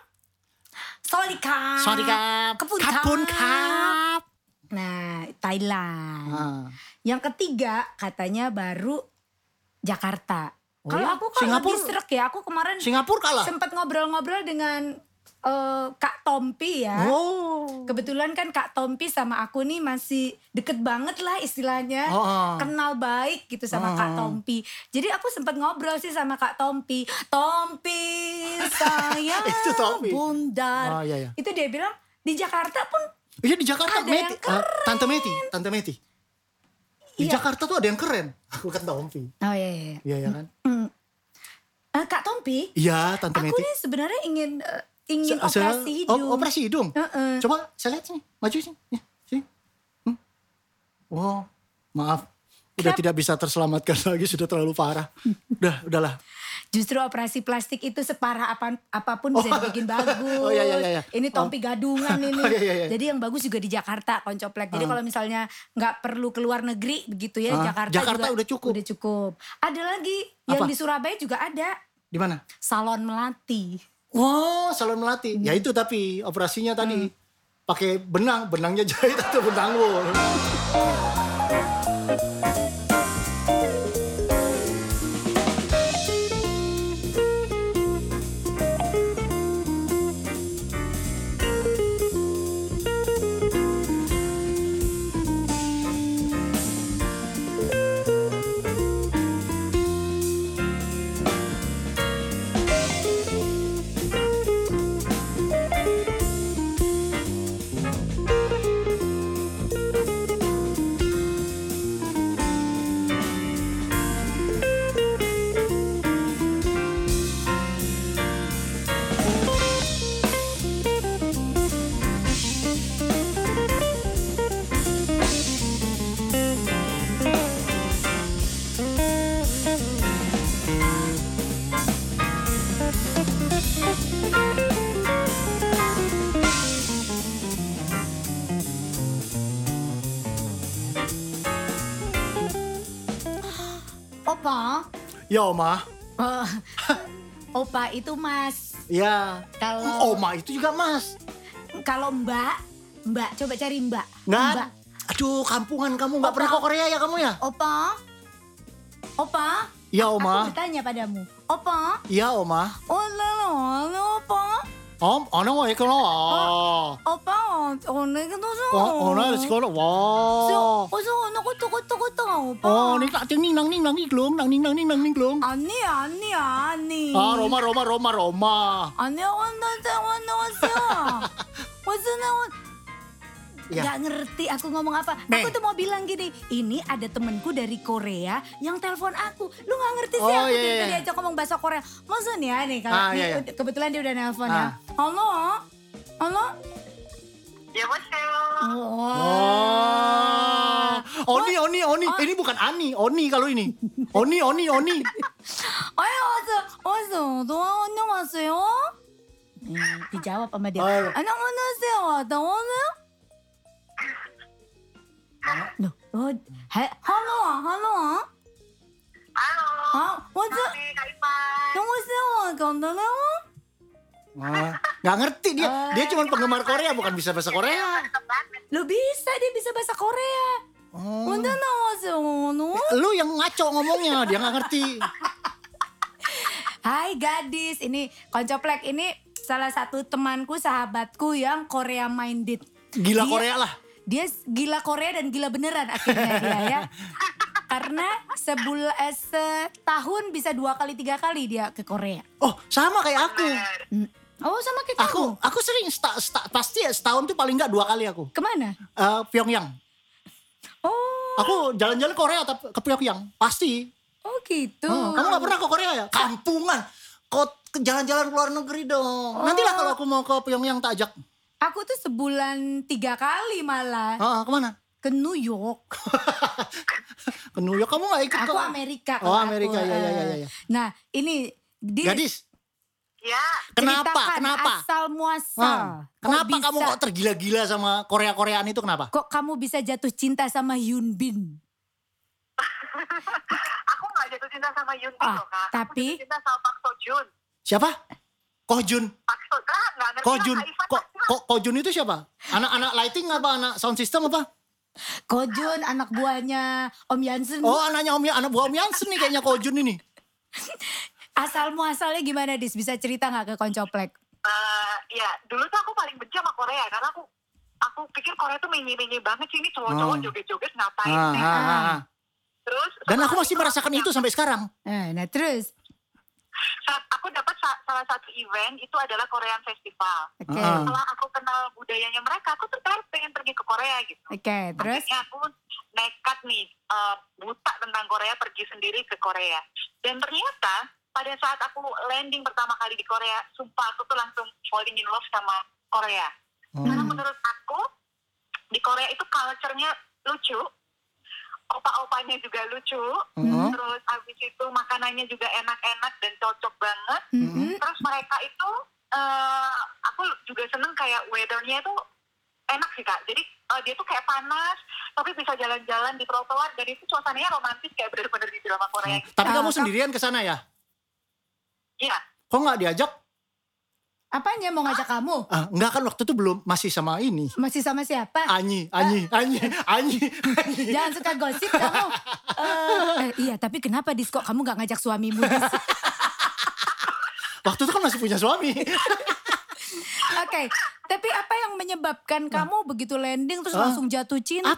Speaker 1: Sorika,
Speaker 2: Kapun Kap.
Speaker 1: Nah, Thailand. Yang ketiga katanya baru Jakarta. Kalau aku lagi srek ya, aku kemarin
Speaker 2: Singapura kalah.
Speaker 1: Sempat ngobrol-ngobrol dengan Kak Tompi ya. Kebetulan kan Kak Tompi sama aku nih masih deket banget lah istilahnya. Kenal baik gitu sama Kak Tompi. Jadi aku sempat ngobrol sih sama Kak Tompi. Tompi saya bundar.
Speaker 2: Iya.
Speaker 1: Itu dia bilang di Jakarta pun
Speaker 2: iya di Jakarta
Speaker 1: ada yang keren.
Speaker 2: Tante Meti. Di Jakarta tuh ada yang keren. Aku kan Tompi.
Speaker 1: Oh iya.
Speaker 2: Iya kan.
Speaker 1: Kak Tompi.
Speaker 2: Iya Tante Meti.
Speaker 1: Aku nih sebenarnya ingin operasi hidung.
Speaker 2: Oh, operasi hidung? Coba saya lihat sini, maju sini. Ya, sini. Wow, maaf. Udah tidak bisa terselamatkan lagi, sudah terlalu parah. Udahlah.
Speaker 1: Justru operasi plastik itu separah apapun bisa dibikin bagus.
Speaker 2: Iya.
Speaker 1: Ini Tompi gadungan ini.
Speaker 2: Iya.
Speaker 1: Jadi yang bagus juga di Jakarta, Koncoplek. Jadi kalau misalnya nggak perlu keluar negeri begitu ya, Jakarta
Speaker 2: udah cukup.
Speaker 1: Udah cukup. Ada lagi yang di Surabaya juga ada.
Speaker 2: Di mana?
Speaker 1: Salon Melati.
Speaker 2: Wow, salon Melati. Ya itu tapi operasinya tadi pakai benangnya jahit atau benang wool.
Speaker 1: Opa.
Speaker 2: Ya Oma.
Speaker 1: Opa itu Mas.
Speaker 2: Ya.
Speaker 1: Kalau
Speaker 2: Oma itu juga Mas.
Speaker 1: Kalau Mbak coba cari Mbak.
Speaker 2: Mbak. Aduh, kampungan kamu nggak pernah ke Korea ya kamu ya?
Speaker 1: Opa.
Speaker 2: Ya Oma.
Speaker 1: Aku bertanya padamu. Opa.
Speaker 2: Ya Oma.
Speaker 1: Opa.
Speaker 2: Ano wa ikaw na?
Speaker 1: Opa, o늘 ka to so.
Speaker 2: O늘 sekolah. Wow.
Speaker 1: So, nakuto opa.
Speaker 2: Oh, ning ning nang iglong.
Speaker 1: Ani.
Speaker 2: Roma.
Speaker 1: Ani 왔어요.
Speaker 2: Ya.
Speaker 1: Gak ngerti aku ngomong apa.
Speaker 2: Nih.
Speaker 1: Aku tuh mau bilang gini, ini ada temenku dari Korea yang telepon aku. Lu gak ngerti sih
Speaker 2: Oh,
Speaker 1: aku
Speaker 2: iya.
Speaker 1: diajak ngomong bahasa Korea. Maksudnya nih kalau
Speaker 2: iya.
Speaker 1: kebetulan dia udah nelpon ya. Halo?
Speaker 3: 여보세요.
Speaker 2: Oni. Ini bukan Ani, Oni kalau ini. Oni.
Speaker 1: 어서, 너 안녕하세요? dijawab sama dia. 안녕하세요, 나 오늘? halo.
Speaker 3: Halo.
Speaker 1: What's up?
Speaker 3: Kak Ipan.
Speaker 1: 안녕하세요, 건너네요?
Speaker 2: Gak ngerti dia. Dia cuma penggemar Korea, bukan bisa bahasa Korea.
Speaker 1: Lu bisa, dia bisa bahasa Korea. Udah
Speaker 2: Lu yang ngaco ngomongnya, dia gak ngerti.
Speaker 1: Hai gadis, ini Koncoplek, ini salah satu temanku, sahabatku yang Korea minded.
Speaker 2: Gila Korea lah.
Speaker 1: Dia gila Korea dan gila beneran akhirnya dia ya. Karena setahun bisa 2 kali 3 kali dia ke Korea.
Speaker 2: Oh sama kayak aku.
Speaker 1: Oh sama kayak kamu.
Speaker 2: Aku sering pasti ya setahun tuh paling nggak 2 kali aku.
Speaker 1: Kemana?
Speaker 2: Pyongyang.
Speaker 1: Oh.
Speaker 2: Aku jalan-jalan Korea tapi ke Pyongyang pasti.
Speaker 1: Oh gitu.
Speaker 2: Kamu nggak pernah ke Korea ya? Kampungan. Kau jalan-jalan ke luar negeri dong. Nantilah kalau aku mau ke Pyongyang tak ajak.
Speaker 1: Aku tuh sebulan 3 kali malah.
Speaker 2: Kemana?
Speaker 1: Ke New York.
Speaker 2: Ke New York kamu gak ikut?
Speaker 1: Aku Amerika.
Speaker 2: Oh Amerika, ya.
Speaker 1: Nah ini.
Speaker 2: Gadis.
Speaker 3: Ya.
Speaker 2: Kenapa?
Speaker 1: Asal muasal.
Speaker 2: Kenapa kamu kok tergila-gila sama Korea-Koreaan itu kenapa?
Speaker 1: Kok kamu bisa jatuh cinta sama Hyun Bin?
Speaker 3: Aku gak jatuh cinta sama Hyun Bin loh Kak.
Speaker 1: Tapi.
Speaker 3: Aku jatuh cinta sama Park Seo Joon.
Speaker 2: Siapa? Ko Jun. Ko Jun. Ko Jun itu siapa? Anak-anak lighting apa? Anak sound system apa?
Speaker 1: Ko Jun anak buahnya Om Yansen.
Speaker 2: Oh anak buah Om Yansen nih kayaknya Ko Jun ini.
Speaker 1: Asal muasalnya gimana Dis? Bisa cerita gak ke Koncoplek?
Speaker 3: Ya dulu tuh aku paling benci sama Korea. Karena aku pikir Korea tuh menye-menye banget sih. Ini cowok-cowok joget-joget ngapain sih. Terus.
Speaker 2: Dan aku masih merasakan itu sampai sekarang.
Speaker 1: Nah terus.
Speaker 3: Aku dapat salah satu event itu adalah Korean Festival.
Speaker 1: Okay.
Speaker 3: Setelah aku kenal budayanya mereka, aku tertarik pengen pergi ke Korea gitu.
Speaker 1: Oke, terus?
Speaker 3: Akhirnya aku nekat nih buta tentang Korea, pergi sendiri ke Korea. Dan ternyata pada saat aku landing pertama kali di Korea, sumpah aku tuh langsung falling in love sama Korea. Karena menurut aku di Korea itu culture-nya lucu. Opa-opanya juga lucu, terus habis itu makanannya juga enak-enak dan cocok banget. Terus mereka itu, aku juga seneng kayak weather-nya itu enak sih Kak. Jadi dia tuh kayak panas, tapi bisa jalan-jalan di trotoar dan itu suasananya romantis kayak bener-bener di drama Korea.
Speaker 2: Tapi kamu sendirian ke sana ya?
Speaker 3: Iya.
Speaker 2: Kok nggak diajak?
Speaker 1: Apanya mau ngajak kamu?
Speaker 2: Enggak kan waktu itu belum, masih sama ini.
Speaker 1: Masih sama siapa?
Speaker 2: Anyi.
Speaker 1: Jangan suka gosip kamu. Iya tapi kenapa Dis kok kamu gak ngajak suamimu Dis?
Speaker 2: Waktu itu kan masih punya suami.
Speaker 1: Oke, tapi apa yang menyebabkan kamu begitu landing terus langsung jatuh cinta?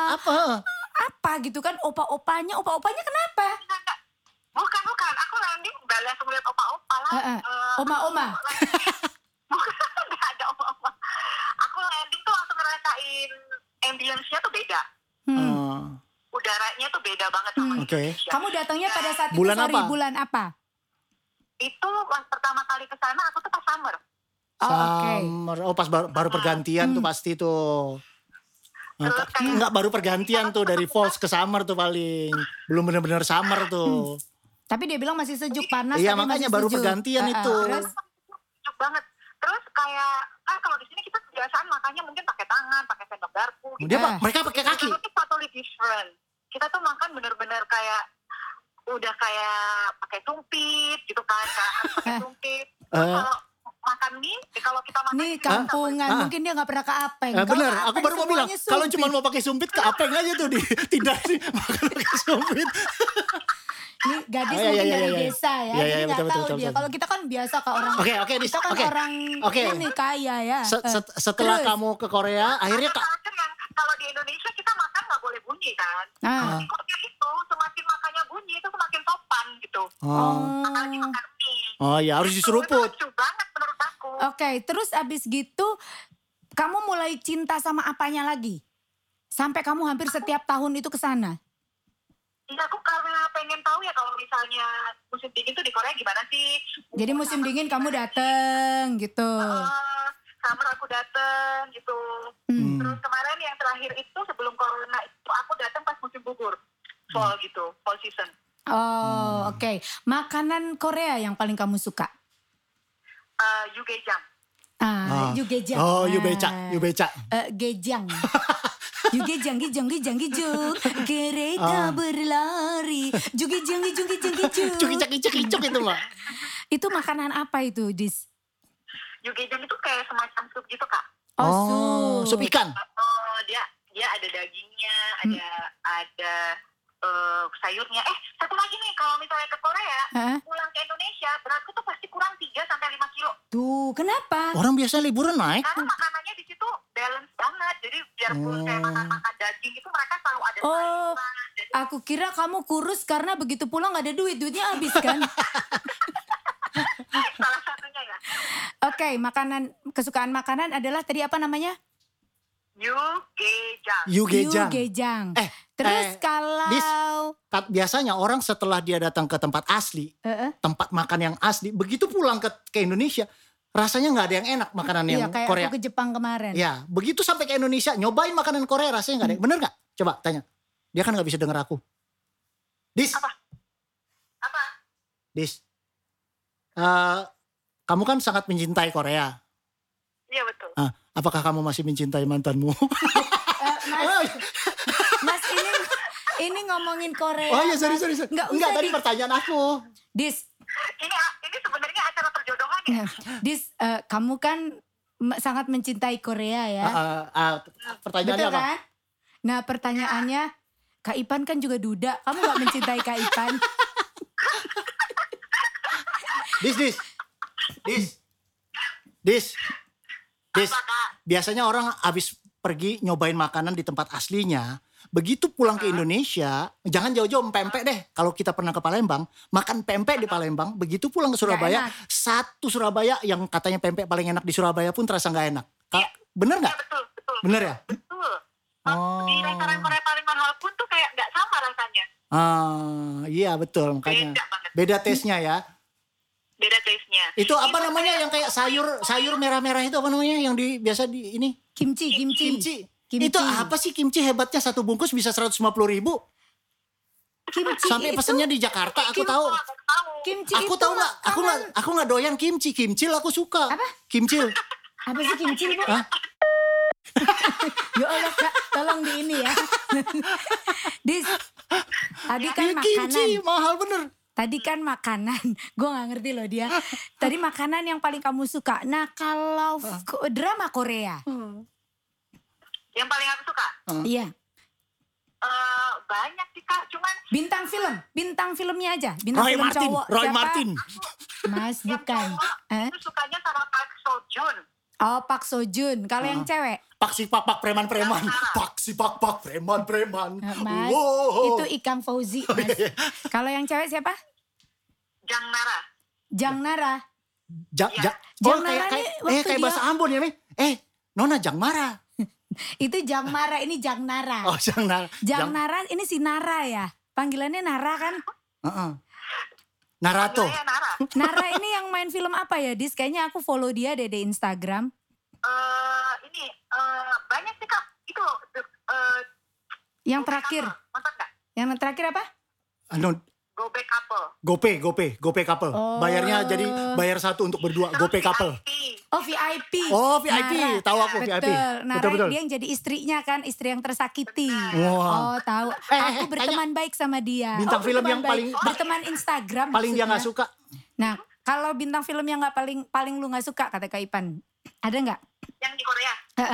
Speaker 1: Apa gitu kan opa-opanya kenapa?
Speaker 3: Bukan. Aku landing langsung lihat opa-opa lah.
Speaker 1: Oma-oma.
Speaker 3: Bukan, gak ada oma-oma. Aku landing tuh langsung ngerasain ambience-nya tuh beda. Udaranya tuh beda banget sama Indonesia.
Speaker 1: Kamu datangnya pada saat itu, bulan apa?
Speaker 3: Itu pas pertama kali ke sana aku tuh pas summer.
Speaker 2: Summer. Oh pas baru pergantian tuh pasti tuh. Enggak baru pergantian tuh dari fall ke summer tuh paling. Belum benar-benar summer tuh.
Speaker 1: Tapi dia bilang masih sejuk, panas.
Speaker 2: Iya makanya baru pergantian itu.
Speaker 3: Terus sejuk banget. Terus kayak kan kalau di sini kita kebiasaan makannya mungkin pakai tangan, pakai sendok garpu. Gitu.
Speaker 2: Mereka pakai kaki.
Speaker 3: Itu totally different. Kita tuh makan bener-bener kayak udah kayak pakai sumpit gitu kan, pakai sumpit. Kalau makan mie, kalau kita makan
Speaker 1: nih kampungan, mungkin dia nggak pernah ke Apeng.
Speaker 2: Bener, aku baru mau bilang kalau cuma mau pakai sumpit ke Apeng aja tuh tidak sih makan pakai sumpit.
Speaker 1: Ini gadis mungkin dari desa ya, jadi nggak tahu dia. Kalau kita kan biasa ke orang, kita kan orang ini kaya ya.
Speaker 2: Setelah kamu ke Korea, akhirnya
Speaker 3: kalau di Indonesia kita makan nggak boleh bunyi kan. Di Korea itu semakin makannya bunyi itu semakin sopan gitu. Apalagi makan mie.
Speaker 2: Oh ya harus diseruput.
Speaker 3: Lucu banget menurut aku.
Speaker 1: Oke, terus abis gitu kamu mulai cinta sama apanya lagi? Sampai kamu hampir setiap tahun itu ke sana.
Speaker 3: Iya, aku karena pengen tahu ya kalau misalnya musim dingin tuh di Korea gimana sih.
Speaker 1: Jadi musim dingin kamu dateng gitu.
Speaker 3: Summer aku dateng gitu. Terus kemarin yang terakhir itu sebelum corona itu aku datang pas musim gugur. Fall gitu, fall season.
Speaker 1: Oh oke. Makanan Korea yang paling kamu suka?
Speaker 3: Yugejang.
Speaker 1: Yugejang.
Speaker 2: Oh yubeca.
Speaker 1: Gejang. Yugejang, gejang. Kereta berlari. Jugejang.
Speaker 2: Cukicak itu Mbak.
Speaker 1: Itu makanan apa itu, Dis?
Speaker 3: Yugejang itu kayak semacam sup gitu Kak.
Speaker 2: Sup ikan.
Speaker 3: Dia ada dagingnya, ada sayurnya. Satu lagi nih, kalau misalnya ke Korea, pulang ke Indonesia, beratku tuh pasti kurang 3-5 kilo.
Speaker 1: Tuh, kenapa?
Speaker 2: Orang biasa liburan naik.
Speaker 3: Karena makanannya di situ balance banget. Jadi biarpun saya makan daging itu mereka selalu ada sayuran.
Speaker 1: Aku kira kamu kurus karena begitu pulang gak ada duitnya habis kan?
Speaker 3: Salah satunya ya.
Speaker 1: Oke, kesukaan makanan adalah tadi apa namanya? Yugejang. Terus kalau
Speaker 2: biasanya orang setelah dia datang ke tempat asli, tempat makan yang asli, begitu pulang ke Indonesia, rasanya nggak ada yang enak makanan yang
Speaker 1: kayak
Speaker 2: Korea.
Speaker 1: Aku ke Jepang kemarin.
Speaker 2: Ya, begitu sampai ke Indonesia, nyobain makanan Korea rasanya nggak ada. Bener nggak? Coba tanya. Dia kan nggak bisa denger aku. Dis.
Speaker 3: Apa?
Speaker 2: Dis. Kamu kan sangat mencintai Korea.
Speaker 3: Iya betul.
Speaker 2: Apakah kamu masih mencintai mantanmu?
Speaker 1: Mas ini ngomongin Korea.
Speaker 2: Oh iya, sorry. Enggak, tadi pertanyaan aku.
Speaker 1: Dis.
Speaker 3: Ini sebenarnya acara perjodohan ya?
Speaker 1: Dis, kamu kan sangat mencintai Korea ya?
Speaker 2: Pertanyaannya
Speaker 1: betul,
Speaker 2: apa?
Speaker 1: Kan? Nah pertanyaannya, Kak Ipan kan juga duda. Kamu gak mencintai Kak Ipan?
Speaker 2: Dis. Biasanya orang habis pergi nyobain makanan di tempat aslinya, begitu pulang ke Indonesia, jangan jauh-jauh pempek deh. Kalau kita pernah ke Palembang, makan pempek di Palembang, begitu pulang ke Surabaya, satu Surabaya yang katanya pempek paling enak di Surabaya pun terasa nggak enak. Bener nggak?
Speaker 3: Ya, betul.
Speaker 2: Bener ya?
Speaker 3: Betul. Di restoran Korea paling mahal pun tuh kayak nggak sama rasanya.
Speaker 2: Iya betul, makanya beda taste-nya ya.
Speaker 3: Beda taste-nya.
Speaker 2: Itu apa namanya yang kayak sayur merah-merah itu apa namanya yang biasa di ini?
Speaker 1: Kimchi.
Speaker 2: Itu apa sih kimchi hebatnya satu bungkus bisa 150.000?
Speaker 1: Kimchi
Speaker 2: sampai pesennya di Jakarta aku tahu.
Speaker 1: Kimchi
Speaker 2: aku tahu nggak? Aku nggak doyan kimchi. Kimchi aku suka.
Speaker 1: Apa?
Speaker 2: Kimchi.
Speaker 1: Apa sih kimchi Bu? Ya Allah Kak, tolong di ini ya. Dis, tadi kan makanan.
Speaker 2: Kimchi mahal bener.
Speaker 1: Tadi kan makanan, gue gak ngerti loh dia. Tadi makanan yang paling kamu suka. Nah kalau drama Korea.
Speaker 3: Yang paling aku suka?
Speaker 1: Iya.
Speaker 3: Banyak sih Kak, cuman.
Speaker 1: Bintang filmnya aja. Bintang
Speaker 2: Roy
Speaker 1: film
Speaker 2: Martin,
Speaker 1: cowok.
Speaker 2: Roy
Speaker 1: siapa?
Speaker 2: Martin.
Speaker 1: Mas bukan.
Speaker 3: Aku sukanya sama Park Seo Joon.
Speaker 1: Oh Park Seo Joon. Kalau yang cewek?
Speaker 2: Pak si pak preman-preman. Pak si pak preman-preman.
Speaker 1: Mas, itu Ikang Fauzi Mas. Kalau yang cewek siapa? Jang Nara.
Speaker 2: Jang Nara kayak bahasa Ambon ya Mi. Nona Jang Mara.
Speaker 1: Itu Jang Mara, ini Jang Nara.
Speaker 2: Oh Jang Nara.
Speaker 1: Jang Nara ini si Nara ya. Panggilannya Nara kan?
Speaker 2: Narato.
Speaker 1: Nara ini yang main film apa ya Dis? Kayaknya aku follow dia deh di Instagram.
Speaker 3: Banyak sih Kak. Itu
Speaker 1: yang terakhir. Yang terakhir apa?
Speaker 2: Gope couple. Bayarnya jadi bayar satu untuk berdua. Gope couple.
Speaker 1: VIP.
Speaker 2: VIP. Tahu aku VIP.
Speaker 1: Betul. Dia yang jadi istrinya kan, istri yang tersakiti.
Speaker 2: Wow.
Speaker 1: Tahu. Aku berteman baik sama dia.
Speaker 2: Bintang film yang paling
Speaker 1: berteman Instagram.
Speaker 2: Paling dia nggak suka.
Speaker 1: Nah, kalau bintang film yang nggak paling lu nggak suka kata Kak Ipan, ada nggak?
Speaker 3: Yang di Korea.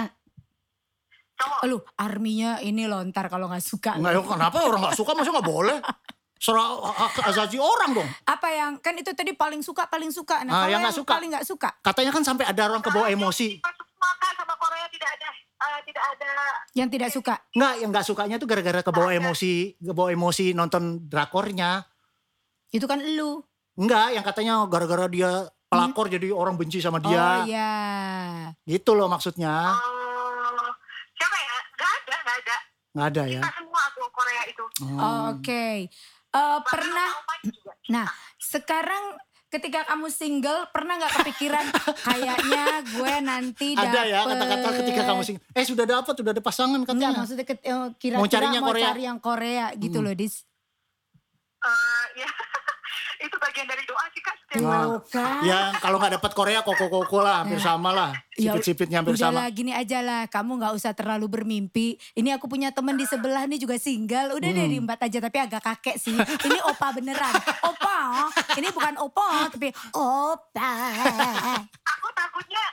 Speaker 1: Lu arminya ini lontar kalau nggak suka.
Speaker 2: Nggak, kenapa orang nggak suka? Masa nggak boleh? Serah asasi orang dong.
Speaker 1: Apa yang kan itu tadi paling suka. Nah, kalau yang paling nggak suka.
Speaker 2: Katanya kan sampai ada orang kebawa emosi.
Speaker 3: Sama Korea tidak ada
Speaker 1: yang tidak suka.
Speaker 2: Nggak, yang nggak sukanya tuh gara-gara kebawa emosi nonton drakornya.
Speaker 1: Itu kan lu.
Speaker 2: Enggak, yang katanya gara-gara dia pelakor jadi orang benci sama dia.
Speaker 1: Oh iya.
Speaker 2: Gitu loh maksudnya.
Speaker 3: Siapa ya? Nggak ada
Speaker 2: ya.
Speaker 3: Kita semua aku Korea itu.
Speaker 1: Oke. Pernah. Nah, sekarang ketika kamu single pernah nggak kepikiran kayaknya gue nanti dapet.
Speaker 2: Ada ya kata-kata ketika kamu single. Sudah ada pasangan katanya.
Speaker 1: Enggak, maksudnya kira-kira mau cari yang Korea gitu loh Dis.
Speaker 3: Ya. Itu bagian dari doa sih Kak.
Speaker 1: Kan?
Speaker 2: Ya kalau nggak dapat Korea koko lah hampir sama lah. Sipit-sipitnya hampir sama.
Speaker 1: Udahlah gini aja lah, kamu nggak usah terlalu bermimpi. Ini aku punya temen di sebelah nih juga single. Udah deh diembat aja tapi agak kakek sih. Ini opa beneran. Opa. Ini bukan opa tapi opa.
Speaker 3: Aku takutnya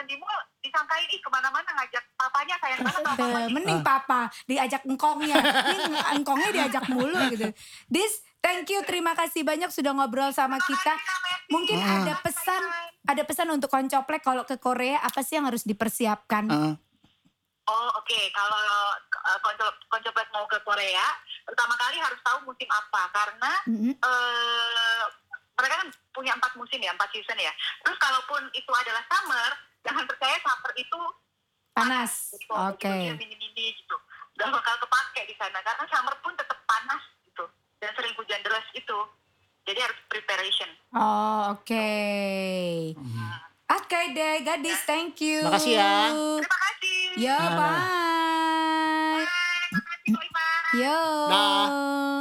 Speaker 3: jalan-jalan di mall disangkain kemana-mana ngajak papanya sayang banget sama papanya.
Speaker 1: Mending papa diajak engkongnya, ini engkongnya diajak mulu gitu. Thank you, terima kasih banyak sudah ngobrol sama kita. Mungkin ada pesan untuk Koncoplek kalau ke Korea apa sih yang harus dipersiapkan?
Speaker 3: Oke. Kalau Koncoplek mau ke Korea, pertama kali harus tahu musim apa karena mereka kan punya 4 musim ya, 4 season ya. Terus kalaupun itu adalah summer, jangan percaya summer itu
Speaker 1: panas.
Speaker 3: Gitu.
Speaker 1: Oke.
Speaker 3: Mini-mini gitu. Gak bakal kepake di sana karena summer pun tetap panas gitu dan sering hujan deras itu. Jadi harus preparation.
Speaker 1: Oke. Oke deh, gadis, thank you.
Speaker 2: Makasih ya.
Speaker 3: Terima kasih.
Speaker 1: Yo, bye.
Speaker 3: Bye. Makasih, Ko Iman.
Speaker 1: Yo.
Speaker 2: Dah.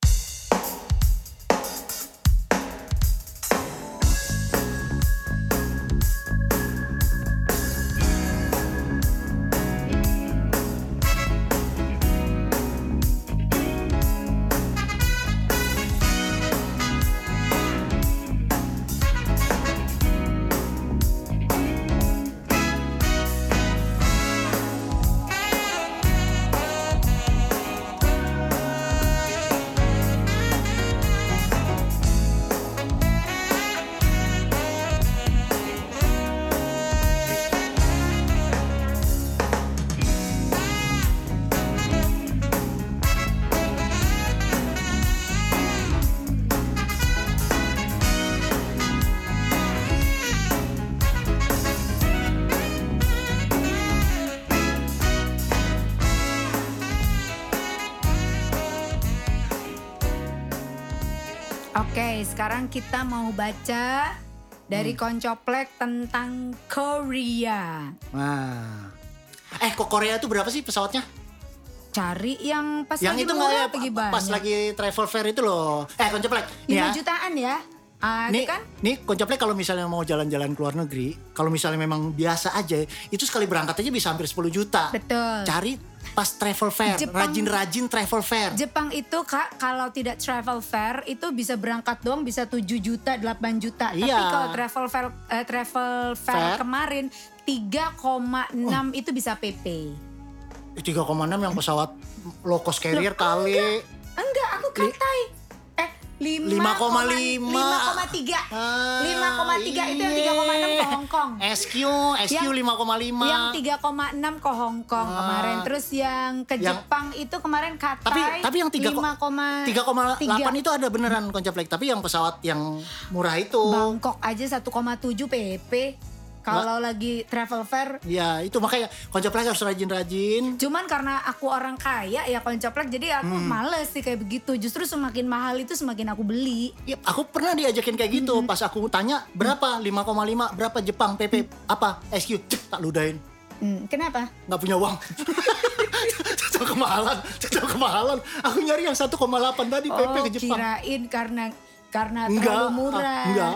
Speaker 1: Oke, sekarang kita mau baca dari Koncoplek tentang Korea.
Speaker 2: Nah. Kok Korea itu berapa sih pesawatnya?
Speaker 1: Cari yang pas
Speaker 2: yang
Speaker 1: lagi
Speaker 2: itu
Speaker 1: murah
Speaker 2: nggak ya, pas lagi travel fair itu loh. Koncoplek.
Speaker 1: 5 jutaan ya.
Speaker 2: Nih,
Speaker 1: kan?
Speaker 2: nih Koncoplek kalau misalnya mau jalan-jalan ke luar negeri, kalau misalnya memang biasa aja, itu sekali berangkat aja bisa hampir 10 juta.
Speaker 1: Betul.
Speaker 2: Cari pas travel fair, rajin-rajin travel fair.
Speaker 1: Jepang itu Kak, kalau tidak travel fair itu bisa berangkat doang bisa 7 juta, 8 juta.
Speaker 2: Iya.
Speaker 1: Tapi kalau travel fair kemarin 3,6 itu bisa PP.
Speaker 2: 3,6 yang pesawat low cost carrier kali.
Speaker 1: Enggak, aku katai. 5,3. 5,3 itu yang 3,6 ke Hong Kong.
Speaker 2: SQ 5,5.
Speaker 1: Yang 3,6 ke Hong Kong kemarin. Terus yang ke Jepang itu kemarin katai.
Speaker 2: Tapi yang 3,8 itu ada beneran Koncoplek. Tapi yang pesawat yang murah itu.
Speaker 1: Bangkok aja 1,7 PP. Kalau lagi travel fair.
Speaker 2: Ya itu makanya Koncoplek harus rajin-rajin.
Speaker 1: Cuman karena aku orang kaya ya Koncoplek, jadi aku males sih kayak begitu. Justru semakin mahal itu semakin aku beli.
Speaker 2: Ya, aku pernah diajakin kayak gitu. Pas aku tanya berapa 5,5 berapa Jepang PP apa SQ tak ludahin.
Speaker 1: Kenapa?
Speaker 2: Nggak punya uang. Cocok kemahalan. Aku nyari yang 1,8 tadi PP ke Jepang.
Speaker 1: Kirain karena terlalu murah.
Speaker 2: Enggak.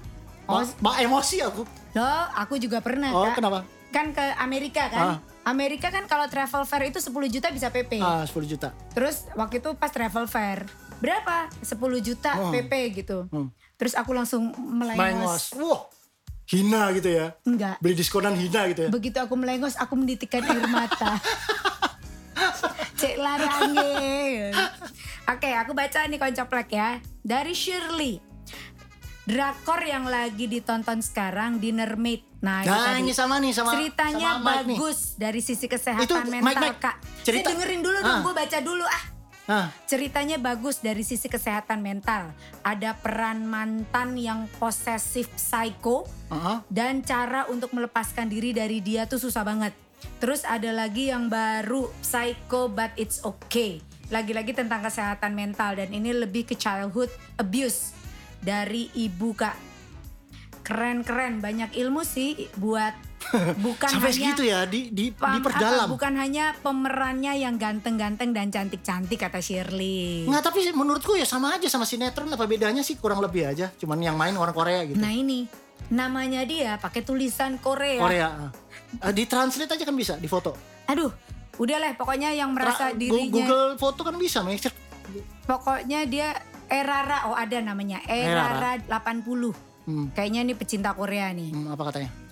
Speaker 2: Emosi aku.
Speaker 1: Loh, aku juga pernah Kak.
Speaker 2: Kenapa?
Speaker 1: Kan ke Amerika kan. Amerika kan kalau travel fair itu 10 juta bisa PP.
Speaker 2: 10 juta.
Speaker 1: Terus waktu itu pas travel fair, berapa? 10 juta PP gitu. Terus aku langsung melengos.
Speaker 2: Wah, hina gitu ya?
Speaker 1: Enggak.
Speaker 2: Beli diskonan hina gitu ya?
Speaker 1: Begitu aku melengos, aku menitikkan air mata. Cek larange. Oke, aku baca nih Koncoplek ya. Dari Shirley. Drakor yang lagi ditonton sekarang Dinner Mate. Nah
Speaker 2: ini sama
Speaker 1: ceritanya
Speaker 2: sama
Speaker 1: bagus dari sisi kesehatan
Speaker 2: itu,
Speaker 1: mental
Speaker 2: Mike.
Speaker 1: Kak.
Speaker 2: Cerita.
Speaker 1: Dengerin dulu dong, gue baca dulu Ceritanya bagus dari sisi kesehatan mental. Ada peran mantan yang posesif psycho dan cara untuk melepaskan diri dari dia tuh susah banget. Terus ada lagi yang baru Psycho But It's Okay. Lagi-lagi tentang kesehatan mental dan ini lebih ke childhood abuse dari ibu Kak. Keren-keren, banyak ilmu sih buat bukan
Speaker 2: sampai
Speaker 1: hanya
Speaker 2: segitu ya diperdalam.
Speaker 1: Bukan hanya pemerannya yang ganteng-ganteng dan cantik-cantik kata Shirley.
Speaker 2: Nggak, tapi menurutku ya sama aja sama sinetron, apa bedanya sih, kurang lebih aja. Cuman yang main orang Korea gitu.
Speaker 1: Nah ini namanya dia pakai tulisan Korea.
Speaker 2: Ditranslate aja kan bisa, di foto.
Speaker 1: Aduh, udahlah pokoknya yang merasa dirinya
Speaker 2: Google foto kan bisa, make.
Speaker 1: Pokoknya dia Erara, ada namanya Erara 80. Kayaknya ini pecinta Korea nih.
Speaker 2: Apa katanya?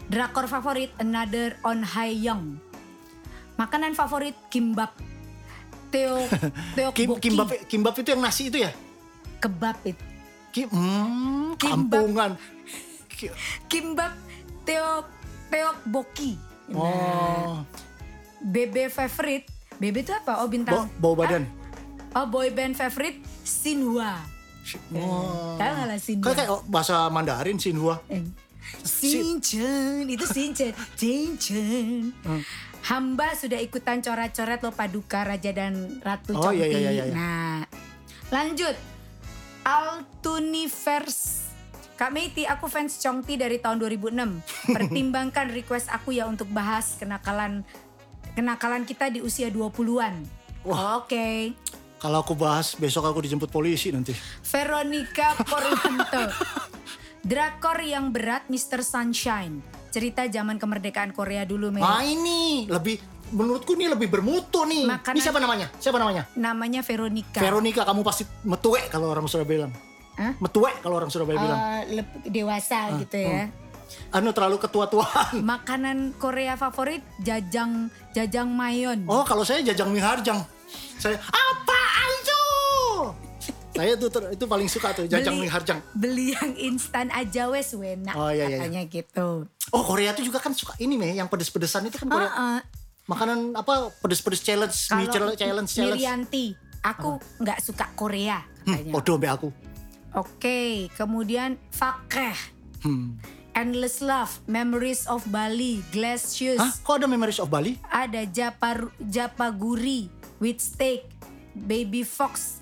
Speaker 1: Drakor favorit Another on Hae-young. Makanan favorit kimbap. Tteokbokki.
Speaker 2: Kimbap itu yang nasi itu ya?
Speaker 1: Kebab itu.
Speaker 2: Kampungan.
Speaker 1: Kimbap tteokbokki.
Speaker 2: Oh.
Speaker 1: BB favorite. BB itu apa? Oh bintang.
Speaker 2: Bau badan.
Speaker 1: Boy band favorite Shinhwa. Tahu nggak lah Shinhwa?
Speaker 2: Kayak bahasa Mandarin Shinhwa.
Speaker 1: Shinchan, itu Shinchan. Shinchan. Hamba sudah ikutan coret-coret lo Paduka Raja dan Ratu Chongti.
Speaker 2: Iya.
Speaker 1: Nah, lanjut. Altuniverse. Kak Meiti, aku fans Chongti dari tahun 2006. Pertimbangkan request aku ya untuk bahas kenakalan kita di usia 20-an. Oke.
Speaker 2: Kalau aku bahas, besok aku dijemput polisi nanti.
Speaker 1: Veronica Purwanto. Drakor yang berat Mr. Sunshine. Cerita zaman kemerdekaan Korea dulu, Mei.
Speaker 2: Ini menurutku ini lebih bermutu nih. Ini siapa namanya?
Speaker 1: Namanya Veronica.
Speaker 2: Veronica, kamu pasti metue kalau orang Surabaya bilang. Metue kalau orang Surabaya bilang.
Speaker 1: Dewasa gitu ya.
Speaker 2: Terlalu ketua-tuaan.
Speaker 1: Makanan Korea favorit jajang mayon.
Speaker 2: Oh, kalau saya jajang miharjang. Saya apaan tuh? Saya tuh itu paling suka tuh jajang miharjang.
Speaker 1: Beli yang instan aja wes enak katanya gitu.
Speaker 2: Oh, Korea tuh juga kan suka ini yang pedes-pedesan itu kan Korea. Makanan apa pedes-pedes challenge, mie challenge.
Speaker 1: Mirianti, aku nggak suka Korea katanya.
Speaker 2: Podo mbak aku.
Speaker 1: Oke, kemudian Fakeh. Endless Love, Memories of Bali, Glass Shoes.
Speaker 2: Kok ada Memories of Bali?
Speaker 1: Ada Japaguri, With Steak, Baby Fox,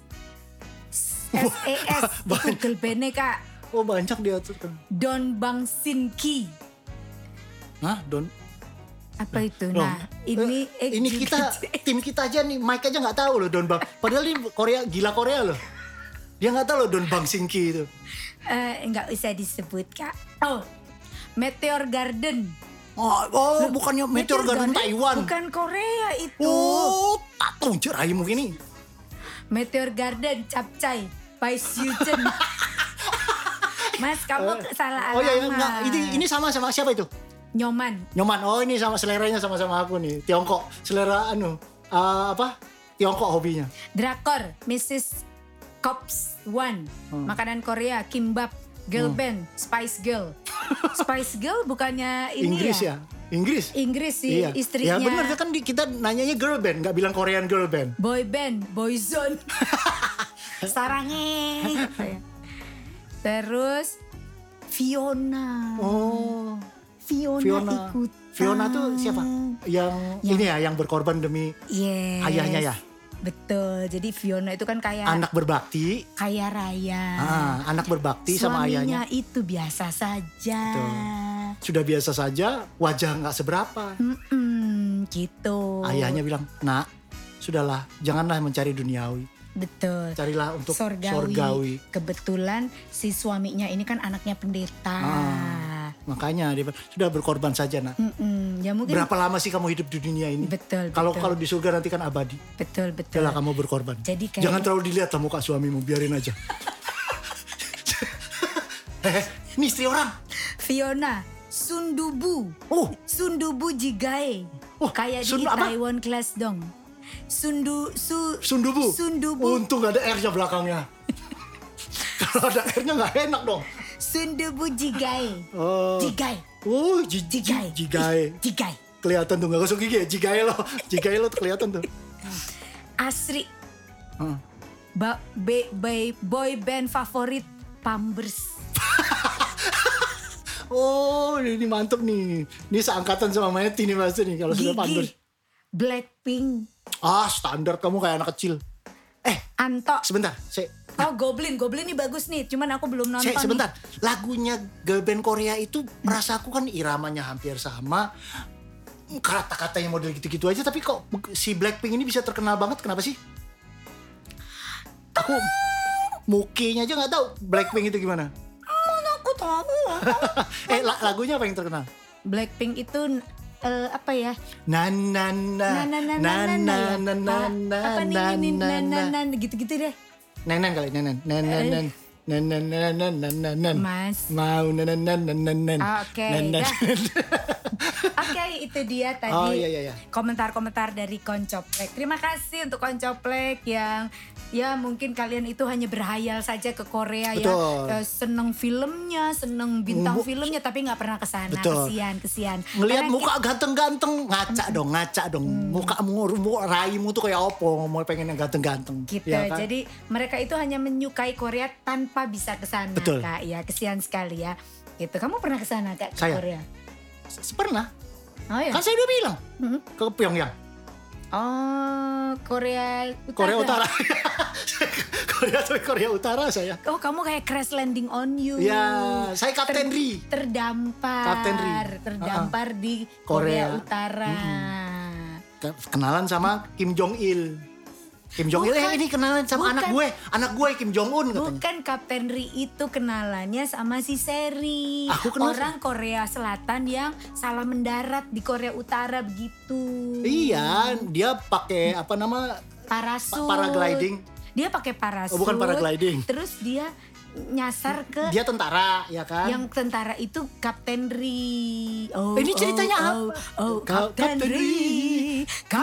Speaker 1: SAS, itu girl band-nya Kak.
Speaker 2: Oh banyak dia tuh.
Speaker 1: Don Bang Sin Ki.
Speaker 2: Don?
Speaker 1: Apa itu? Nah, ini
Speaker 2: tim kita aja nih, Mike aja nggak tahu loh Don Bang. Padahal ini gila Korea loh. Dia nggak tahu loh Don Bang Sin Ki itu.
Speaker 1: Nggak usah disebut Kak. Oh, Meteor Garden.
Speaker 2: Bukannya Meteor Garden Taiwan.
Speaker 1: Bukan Korea itu.
Speaker 2: Oh, tak tahu cerai mungkin ini.
Speaker 1: Meteor Garden Capcay by Sujen. Mas, kamu salah alamat.
Speaker 2: Oh iya, ini sama siapa itu?
Speaker 1: Nyoman.
Speaker 2: Oh, ini sama seleranya sama aku nih. Tiongkok. Selera Tiongkok hobinya.
Speaker 1: Drakor Mrs. Cops One. Makanan Korea kimbap. Girl band Spice Girl. Spice Girl bukannya ini
Speaker 2: Inggris ya? Inggris
Speaker 1: sih, iya. Istrinya.
Speaker 2: Ya benar kan kita nanyanya girl band, nggak bilang Korean girl band.
Speaker 1: Boy band, Boyzone. Sarangnya. Terus Fiona.
Speaker 2: Oh.
Speaker 1: Fiona ikut.
Speaker 2: Fiona tuh siapa? Yang ini ya, yang berkorban demi ayahnya ya.
Speaker 1: Betul, jadi Fiona itu kan kayak
Speaker 2: anak berbakti,
Speaker 1: kaya raya.
Speaker 2: Anak berbakti sama ayahnya.
Speaker 1: Suaminya itu biasa saja.
Speaker 2: Betul. Sudah biasa saja, wajah nggak seberapa.
Speaker 1: Gitu.
Speaker 2: Ayahnya bilang, nak, sudahlah, janganlah mencari duniawi.
Speaker 1: Betul.
Speaker 2: Carilah untuk
Speaker 1: sorgawi. Kebetulan si suaminya ini kan anaknya pendeta.
Speaker 2: Makanya dia sudah berkorban saja nak.
Speaker 1: Ya mungkin.
Speaker 2: Berapa lama sih kamu hidup di dunia ini?
Speaker 1: Betul.
Speaker 2: Kalau di surga nanti kan abadi.
Speaker 1: Betul.
Speaker 2: Janganlah kamu berkorban.
Speaker 1: Jadi
Speaker 2: jangan terlalu dilihat lah muka suamimu, biarin aja. Ini istri orang.
Speaker 1: Fiona Sundubu. Sundubu Jigae. Kayak di Taiwan Class dong.
Speaker 2: Sundubu. Untung gak ada R-nya belakangnya. Kalau ada R-nya gak enak dong.
Speaker 1: Sundubu Jigae. Jigae. Jigae.
Speaker 2: Kelihatan tuh gak gosok gigi ya. Jigae lo tuh kelihatan tuh.
Speaker 1: Asri. Boy band favorit Pampers.
Speaker 2: Ini mantep nih. Ini seangkatan sama Meti nih pasti nih kalau sudah Pampers.
Speaker 1: Blackpink.
Speaker 2: Standar kamu kayak anak kecil.
Speaker 1: Anto.
Speaker 2: Sebentar,
Speaker 1: Goblin ini bagus nih, cuman aku belum nonton.
Speaker 2: Sebentar, lagunya girl band Korea itu merasa aku kan iramanya hampir sama, kata-katanya model gitu-gitu aja, tapi kok si Blackpink ini bisa terkenal banget, kenapa sih? Aku mukinya aja nggak tahu Blackpink itu gimana.
Speaker 1: Mana aku tahu.
Speaker 2: Lagunya apa yang terkenal?
Speaker 1: Blackpink itu apa ya?
Speaker 2: Gitu deh. Nenen kali, nenen.
Speaker 1: Mas.
Speaker 2: Mau
Speaker 1: Oke, Oke, itu dia tadi komentar-komentar dari Koncoplek. Terima kasih untuk Koncoplek yang ya mungkin kalian itu hanya berhayal saja ke Korea.
Speaker 2: Betul.
Speaker 1: Ya, seneng filmnya, seneng bintang filmnya, tapi nggak pernah kesana. Kesian.
Speaker 2: Ngelihat muka ganteng-ganteng, ngaca dong. Mukamu, raimu tuh kayak opo, mau pengen yang ganteng-ganteng.
Speaker 1: Gitu. Ya kan? Jadi mereka itu hanya menyukai Korea tanpa bisa kesana, Kak. Ya, kesian sekali ya. Gitu. Kamu pernah kesana, Kak, ke Korea?
Speaker 2: Pernah.
Speaker 1: Oh, ya?
Speaker 2: Kan saya udah bilang ke Pyongyang.
Speaker 1: Oh, Korea Utara.
Speaker 2: Korea Utara saya.
Speaker 1: Oh, kamu kayak crash landing on you.
Speaker 2: Ya, saya Kapten Ri.
Speaker 1: Terdampar di Korea Utara.
Speaker 2: Kenalan sama Kim Jong Il. Kim Jong Il ini kenalan sama anak gue Kim Jong Un katanya.
Speaker 1: Bukan, Kapten Ri itu kenalannya sama si Seri. Orang Korea Selatan yang salah mendarat di Korea Utara begitu.
Speaker 2: Iya, dia pakai
Speaker 1: parasut.
Speaker 2: Paragliding.
Speaker 1: Dia pakai parasut.
Speaker 2: Oh, bukan paragliding.
Speaker 1: Terus dia nyasar ke
Speaker 2: dia tentara, ya kan?
Speaker 1: Yang tentara itu Kapten Ri.
Speaker 2: Ini ceritanya apa?
Speaker 1: Kapten Ri.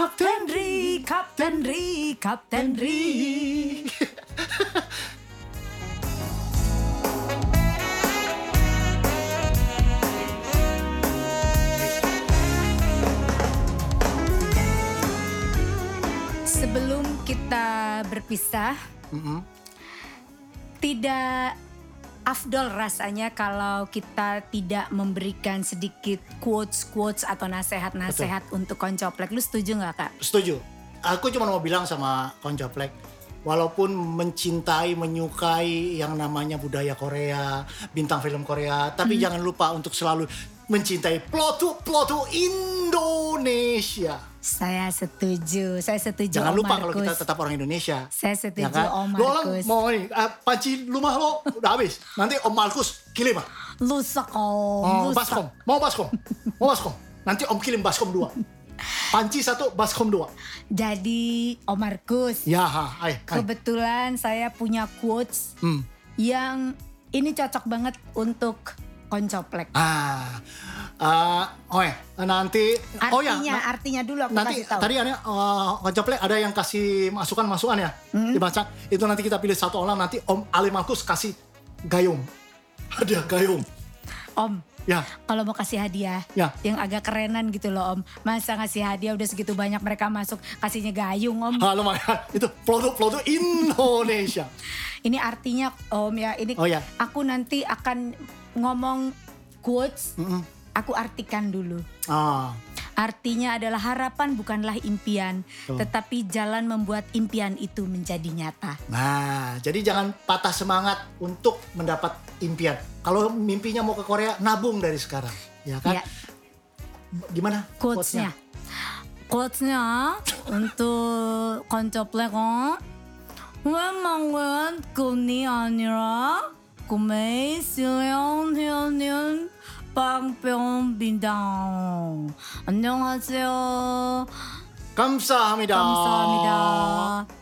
Speaker 1: Sebelum kita berpisah, tidak afdol rasanya kalau kita tidak memberikan sedikit quotes atau nasihat-nasihat untuk Koncoplek. Lu setuju gak, Kak?
Speaker 2: Setuju. Aku cuma mau bilang sama Koncoplek, walaupun mencintai, menyukai yang namanya budaya Korea, bintang film Korea, tapi jangan lupa untuk selalu mencintai plotu Indonesia.
Speaker 1: Saya setuju.
Speaker 2: Jangan
Speaker 1: Om
Speaker 2: lupa
Speaker 1: Markus.
Speaker 2: Kalau kita tetap orang Indonesia.
Speaker 1: Saya setuju, ya kan? Om
Speaker 2: Lo
Speaker 1: Markus.
Speaker 2: mau ini, panci rumah lo udah habis. Nanti Om Markus kirim.
Speaker 1: Lusak Om.
Speaker 2: Baskom. Mau baskom. Nanti Om kirim baskom 2. Panci 1, baskom 2.
Speaker 1: Jadi Om Markus.
Speaker 2: Ya,
Speaker 1: kebetulan saya punya quotes yang ini cocok banget untuk Koncoplek.
Speaker 2: Nanti
Speaker 1: artinya dulu aku
Speaker 2: nanti
Speaker 1: kasih tahu.
Speaker 2: Tadi ada Koncoplek ada yang kasih masukan ya dibaca. Itu nanti kita pilih satu orang, nanti Om Ali Markus kasih gayung. Hadiah gayung.
Speaker 1: Om.
Speaker 2: Ya.
Speaker 1: Kalau mau kasih hadiah yang agak kerenan gitu loh, Om. Masa ngasih hadiah udah segitu banyak mereka masuk kasihnya gayung, Om.
Speaker 2: Lumayan. Itu produk Indonesia.
Speaker 1: Ini artinya, Om, ya. Ini aku nanti akan ngomong quotes. Aku artikan dulu. Artinya adalah harapan bukanlah impian, tetapi jalan membuat impian itu menjadi nyata.
Speaker 2: Nah, jadi jangan patah semangat untuk mendapat impian. Kalau mimpinya mau ke Korea, nabung dari sekarang, ya kan? Ya. Gimana
Speaker 1: quotesnya? Quotesnya untuk Koncoplek, wemangan 꿈이 아니라 꿈의 실현하는 빵뿅빈당. 안녕하세요.
Speaker 2: 감사합니다.